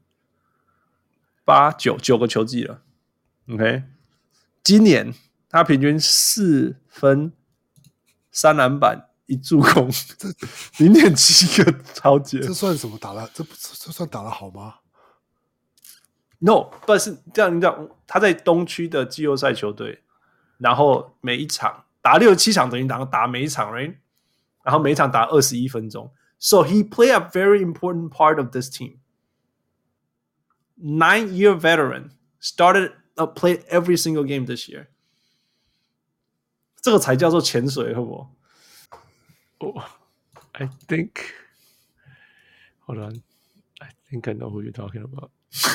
八九九個球季了。OK， 今年他平均四分、三籃板、一助攻，零點七個超節。 這算什麼打了？這不這算打得好嗎 ？No， 不是這樣。你講他在東區的季後賽球隊，然後每一場打六十七場，等於打打每一場 ，right？ 然後每一場打二十一分鐘。So he played a very important part of this team. Nine-year veteran started uh, played every single game this year. 這個才叫做潛水，好不好？ Oh, I think. Hold on. I think I know who you're talking about.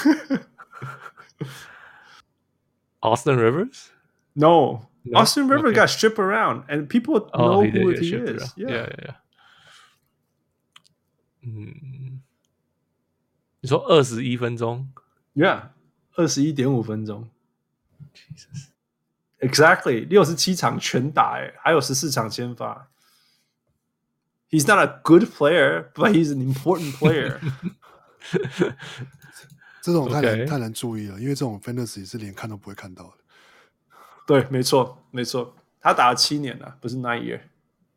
Austin Rivers? No. No? Austin Rivers Okay. got stripped around, and people Oh, know he did who get he shipped is. around. Yeah. Yeah, yeah, yeah. 嗯，你說二十一分鐘 Yeah. 二十一點五分鐘。 Jesus. Exactly. 六十七場全打，哎，還有十四場先發。He's not a good player, but he's an important player. 這種太難 Okay. 太難注意了，因為這種 fantasy 是連看都不會看到的。 對，沒錯，沒錯，他打了七年了，不是 nine year，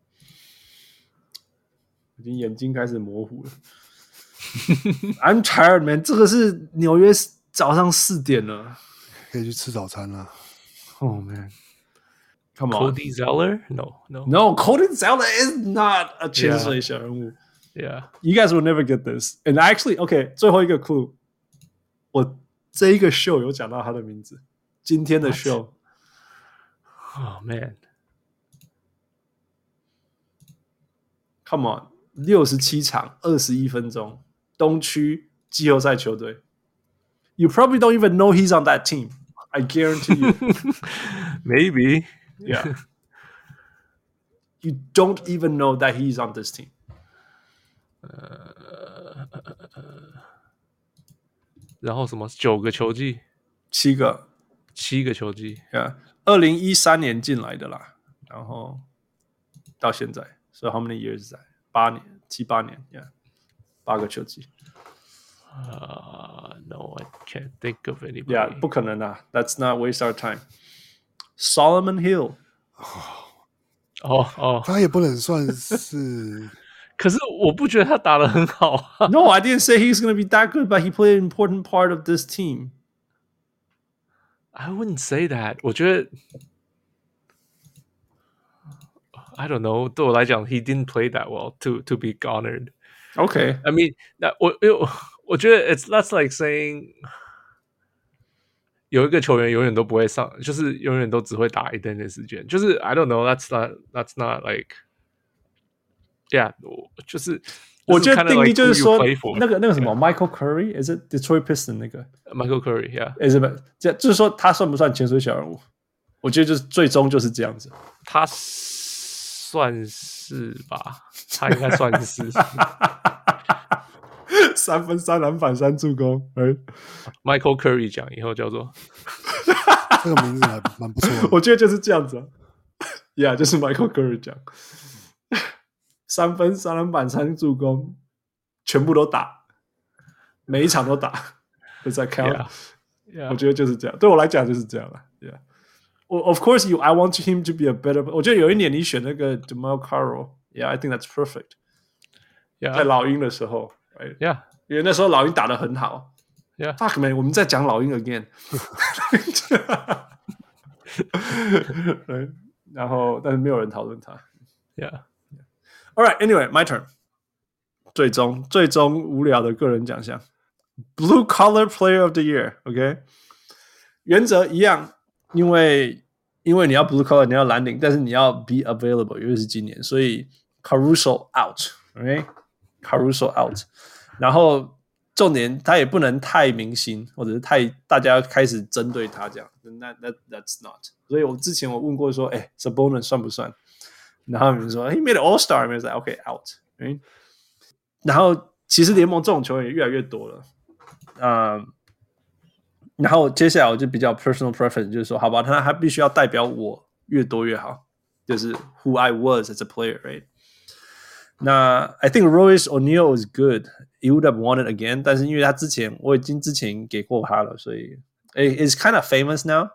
已經眼睛開始模糊了。I'm tired, man。這個是紐約早上四點了， 可以去吃早餐了。 Oh man, come on. Cody Zeller? No, no. No, Cody Zeller is not a 潛水小人物。 Yeah. You guys will never get this. And actually, okay, 最後一個 clue， 我這一個 show 有講到他的名字，今天的 show。 Oh man. Come on， 六十七場，二十一分鐘，東區季後賽球隊。You probably don't even know he's on that team. I guarantee you. Maybe. Yeah. You don't even know that he's on this team. 呃，然後什麼九個球季， 七個， 七個球季。 Yeah， 二零一三年進來的啦，然後到現在，所以 how many years 在？八年，七八年 ，Yeah， 八個球季。 Uh, no, I can't think of anybody. Yeah， 不可能啊 ，That's not waste our time. Solomon Hill， 哦哦， 他也不能算是。 可是我不覺得他打得很好啊。 No, I didn't say he's going to be that good, but he played an important part of this team. I wouldn't say that. 我覺得 I don't know. 對我來講 he didn't play that well to to be honored. Okay. I mean, 那我我我覺得 it's that's like saying 有一個球員永遠都不會上，就是永遠都只會打一點點時間。就是 I don't know. That's not that's not like yeah. 就是我覺得定義就是說 like 那個那個什麼 Michael Curry，is it Detroit Piston 那個 Michael Curry yeah. is it 這就是說他算不算潛水小人物？我覺得就是最終就是這樣子。 他算是吧，他應該算是。 三分、三籃板、三助攻。Right? Michael Curry 獎以後叫做這個名字還蠻不錯的。 我覺得就是這樣子、啊。Yeah， 就是 Michael Curry 獎。三分、三籃板、三助攻，全部都打，每一場都打，都在 count。 Yeah, yeah. 我覺得就是這樣，對我來講就是這樣了。Yeah， Of course, you. I want him to be a better. 我覺得有一年你選那個 Jamal Carroll, yeah, I think that's perfect. Yeah. 在老鷹的時候 ，right? Yeah. 因為那時候老鷹打得很好。 Yeah. Fuck man，我們在講老鷹 again 。然後，但是沒有人討論他。 Yeah. All right. Anyway, my turn. 最終最終無聊的個人獎項 ，Blue Collar Player of the Year。OK， 原則一樣，因為因為你要 Blue Collar， 你要藍領，但是你要 be available， 因為是今年，所以 Caruso out。OK，Caruso out。然後重點他也不能太明星，或者是太大家開始針對他這樣。那那 that's not。所以我之前我問過說，哎 ，Sabonis 算不算？然後他們說 ，He made an All Star， I was like, OK out。right？然後其實聯盟這種球員也越來越多了，嗯，然後接下來我就比較 personal preference， 就是說，好吧，他他必須要代表我越多越好，就是 who I was as a player，right？ 那 I think Royce O'Neal is good. He would have won it again. 但是因為他之前我已經之前給過他了，所以 it's kind of famous now.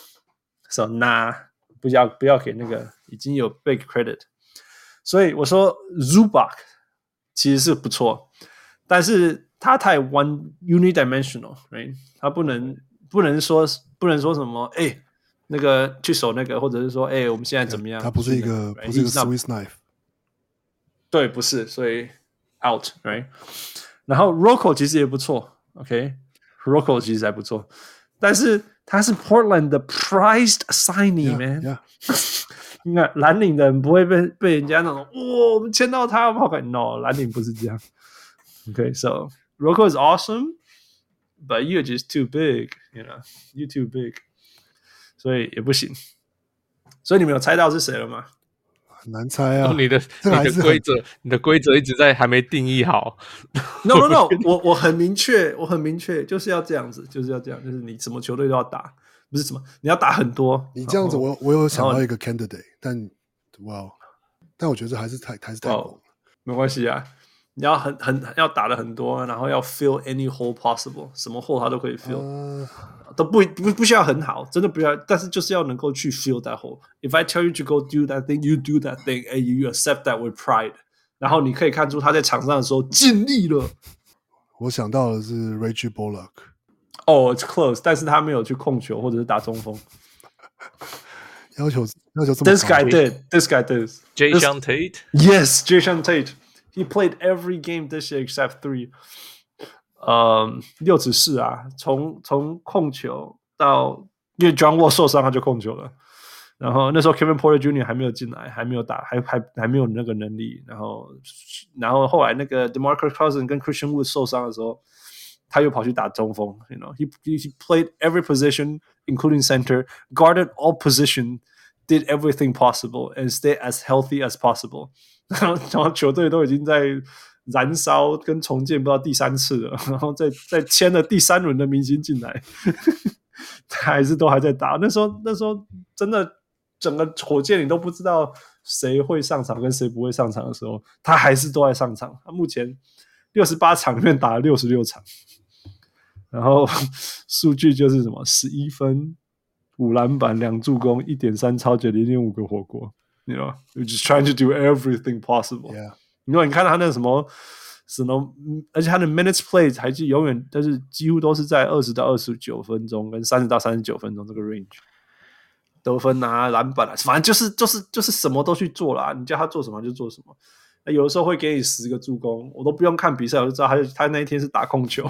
So nah， 不要不要給那個已經有 big credit。所以我說 Zubac 其實是不錯，但是他太 one unidimensional， right？ 他不能不能說不能說什麼哎、欸、那個去守那個，或者是說哎、欸、我們現在怎麼樣？ 他不是一個、那個 right? 不是一個 Swiss knife。 對，不是，所以 out，right？ 然後 Rocco 其實也不錯 ，OK？Rocco、okay? 其實還不錯，但是他是 Portland 的 prized signee， man。 Yeah, yeah. 你看藍領的人不會被被人家那種，哇、哦，我們簽到他，我們好看。No， 藍領不是這樣。OK，so、okay, Rocco is awesome，but you're just too big，you know，you too big， 所以也不行。所以你們有猜到是誰了嗎？ 很難猜啊！ 哦、你的你的規則，你的規則一直在還沒定義好。 No no no， 我我很明確，我很明確，就是要這樣子，就是要這樣，就是你什麼球隊都要打，不是什麼你要打很多。 你這樣子我，我我有想到一個 candidate， 但哇，但我覺得還是太還是太廣了。 沒關係啊，你要很很要打的很多，然後要 fill any hole possible， 什麼 hole 他都可以 fill。Uh... 都不不不需要很好，真的不需要，但是就是要能夠去 fill that hole. If I tell you to go do that thing, you do that thing, and you accept that with pride. 然後你可以看出他在場上的時候盡力了。 我想到的是 Reggie Bullock。 哦、oh, ，it's close， 但是他沒有去控球或者是打中鋒。 要求要求這麼高。 This guy did. This guy did. Jason Tate. Yes, Jason Tate. He played every game this year except three. 嗯，六尺四啊，從從控球到，因為 John Wall 受傷他就控球了，然後那時候 Kevin Porter Junior 還沒有進來，還沒有打，還還還沒有那個能力，然後然後後來那個 DeMarcus Cousins 跟 Christian Wood 受傷的時候，他又跑去打中鋒 ，you know, he he played every position including center, guarded all position, did everything possible and stayed as healthy as possible. 然後然後球隊都已經在燃燒跟重建不知道第三次了，然後再再簽了第三輪的明星進來，他還是都還在打。那時候那時候真的整個火箭你都不知道誰會上場跟誰不會上場的時候，他還是都在上場。他目前六十八場裡面打了六十六場，然後數據就是什麼十一分、五籃板、兩助攻、一點三抄截、零點五個火鍋。You know, you're just trying to do everything possible. Yeah. 因為你看他那什麼什麼，而且他的 minutes played 還是永遠，但是幾乎都是在二十到二十九分鐘跟三十到三十九分鐘這個 range， 得分啊、籃板啊，反正就是就是就是什麼都去做啦。你叫他做什麼就做什麼。那有的時候會給你十個助攻，我都不用看比賽，我就知道他他那一天是打控球。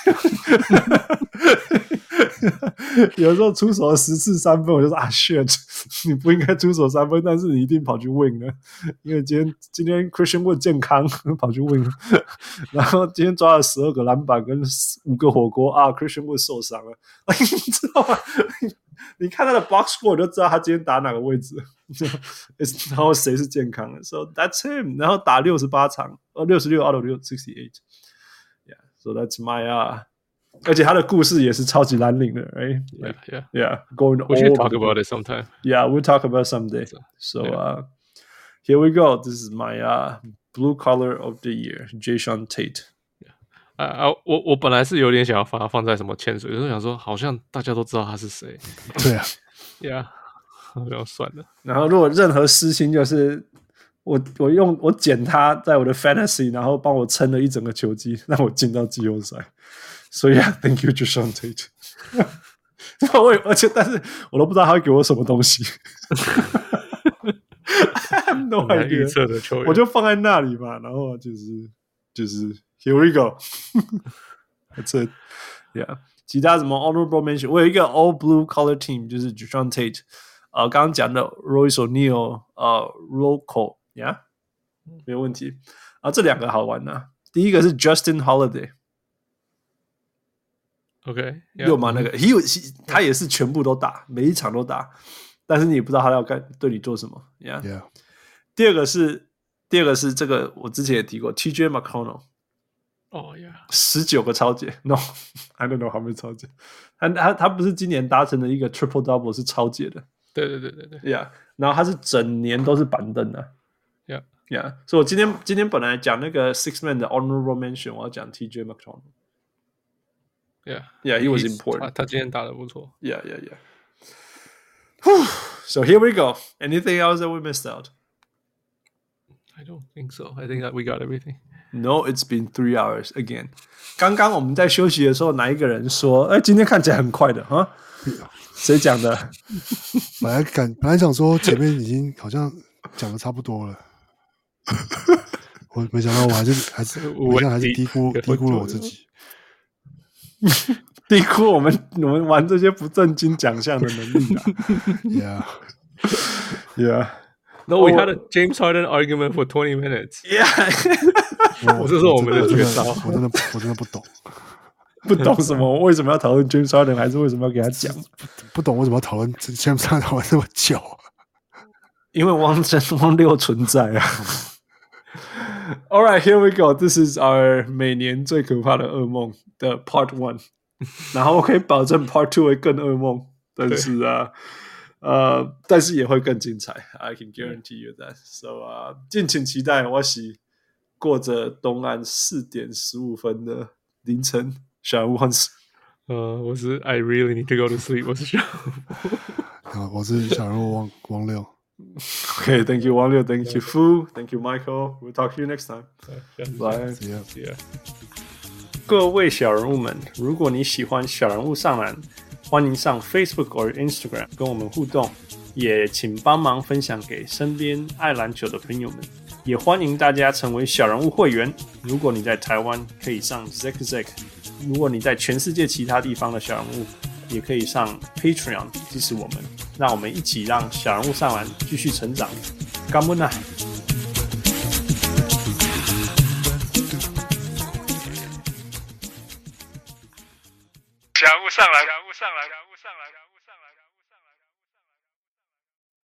有的時候出手了十次三分，我就說啊 shit， 你不應該出手三分，但是你一定跑去 win 了，因為今天今天 Christian Wood 健康跑去 win 了，然後今天抓了十二個籃板跟五個火鍋啊 Christian Wood 受傷了，你知道嗎？你看他的 box score 就知道他今天打哪個位置，然後誰是健康的 ，so that's him， 然後打六十八場，呃六十六 out of六 sixty-eight，yeah，so that's my uh。而且他的故事也是超級藍領的 ，right? Yeah, yeah, yeah. Going we should talk about it sometime. Yeah, we'll talk about it someday. So, yeah. uh, here we go. This is my uh blue collar of the year, Jason Tate. 啊啊，我我本來是有點想要把它放在什麼潛水，就是想說好像大家都知道他是誰。 對啊 ，Yeah. 不要算了。 然後如果任何私心，就是我我用我撿他在我的 fantasy， 然後幫我撐了一整個球季，讓我進到季後賽。所以啊 ，Thank you, Jason Tate 我而且但是我都不知道他會給我什麼東西。no idea 預測的球員，我就放在那裡嘛，然後就是就是 Here we go 。That's it, yeah。其他什麼 honorable mention， 我有一個 all blue color team， 就是 Jason Tate， 呃，剛剛講的 Royce O'Neal， 呃 Rocco， yeah， 沒有問題。啊，這兩個好玩啊。第一個是 Justin Holiday。OK， 六嘛那個 he, he 他也是全部都打，每一場都打，但是你也不知道他要幹對你做什麼 ，yeah。 Yeah. 第二個是第二個是這個我之前也提過 ，T J McConnell。 哦呀， 十九個超解 ，no，I don't know how many 超解。他他他不是今年達成了一個 triple double 是超解的， 對對對對對 ，yeah。然後他是整年都是板凳的 ，yeah yeah。所以我今天今天本來講那個 six man 的 honorable mention， 我要講 T J McConnell。Yeah, yeah, he was important. 他, 他今天打得不錯。 Yeah, yeah, yeah. Whew. So here we go. Anything else that we missed out? I don't think so. I think that we got everything. No, it's been three hours again. 剛剛我們在休息的時候，哪一個人說：“哎，今天看起來很快的哈？”誰講的？ 本來感本來想說前面已經好像講的差不多了，我沒想到我還是還是好像還是低估低估了我自己。 低估我們我們玩這些不正經獎項的能力啊 ！Yeah, yeah. No, we had a James Harden argument for twenty minutes. Yeah. 我這是我們的絕招。 我真的我真的不懂， 不懂什麼？為什麼要討論 James Harden？ 還是為什麼要給他講？ 不, 不懂為什麼要討論 James Harden 討論這麼久？ 因為汪真汪六存在啊。All right, here we go. This is our 每年最可怕的噩夢的 Part One。然後我可以保證 Part Two 會更噩夢，但是啊，呃，但是也會更精彩。I can guarantee you that. So 啊、uh, ，敬請期待。我是過着東岸四點十五分的凌晨，小人物漢斯。 呃，我是 I really need to go to sleep。我是小人物， 啊，我是小人物汪汪六。 Okay, thank you, Wang Liu. Thank you, Fu. Thank you, Michael. We'll talk to you next time. Bye. See ya. See ya. 各位小人物們，如果你喜歡小人物上籃，歡迎上 Facebook 或 Instagram 跟我們互動，也請幫忙分享給身邊愛籃球的朋友們。也歡迎大家成為小人物會員。如果你在台灣，可以上 Zack Zack； 如果你在全世界其他地方的小人物，也可以上 Patreon 支持我們。讓我們一起讓小人物上籃繼續成長。感恩啊！小人物上籃，小人物上籃，小人物上籃。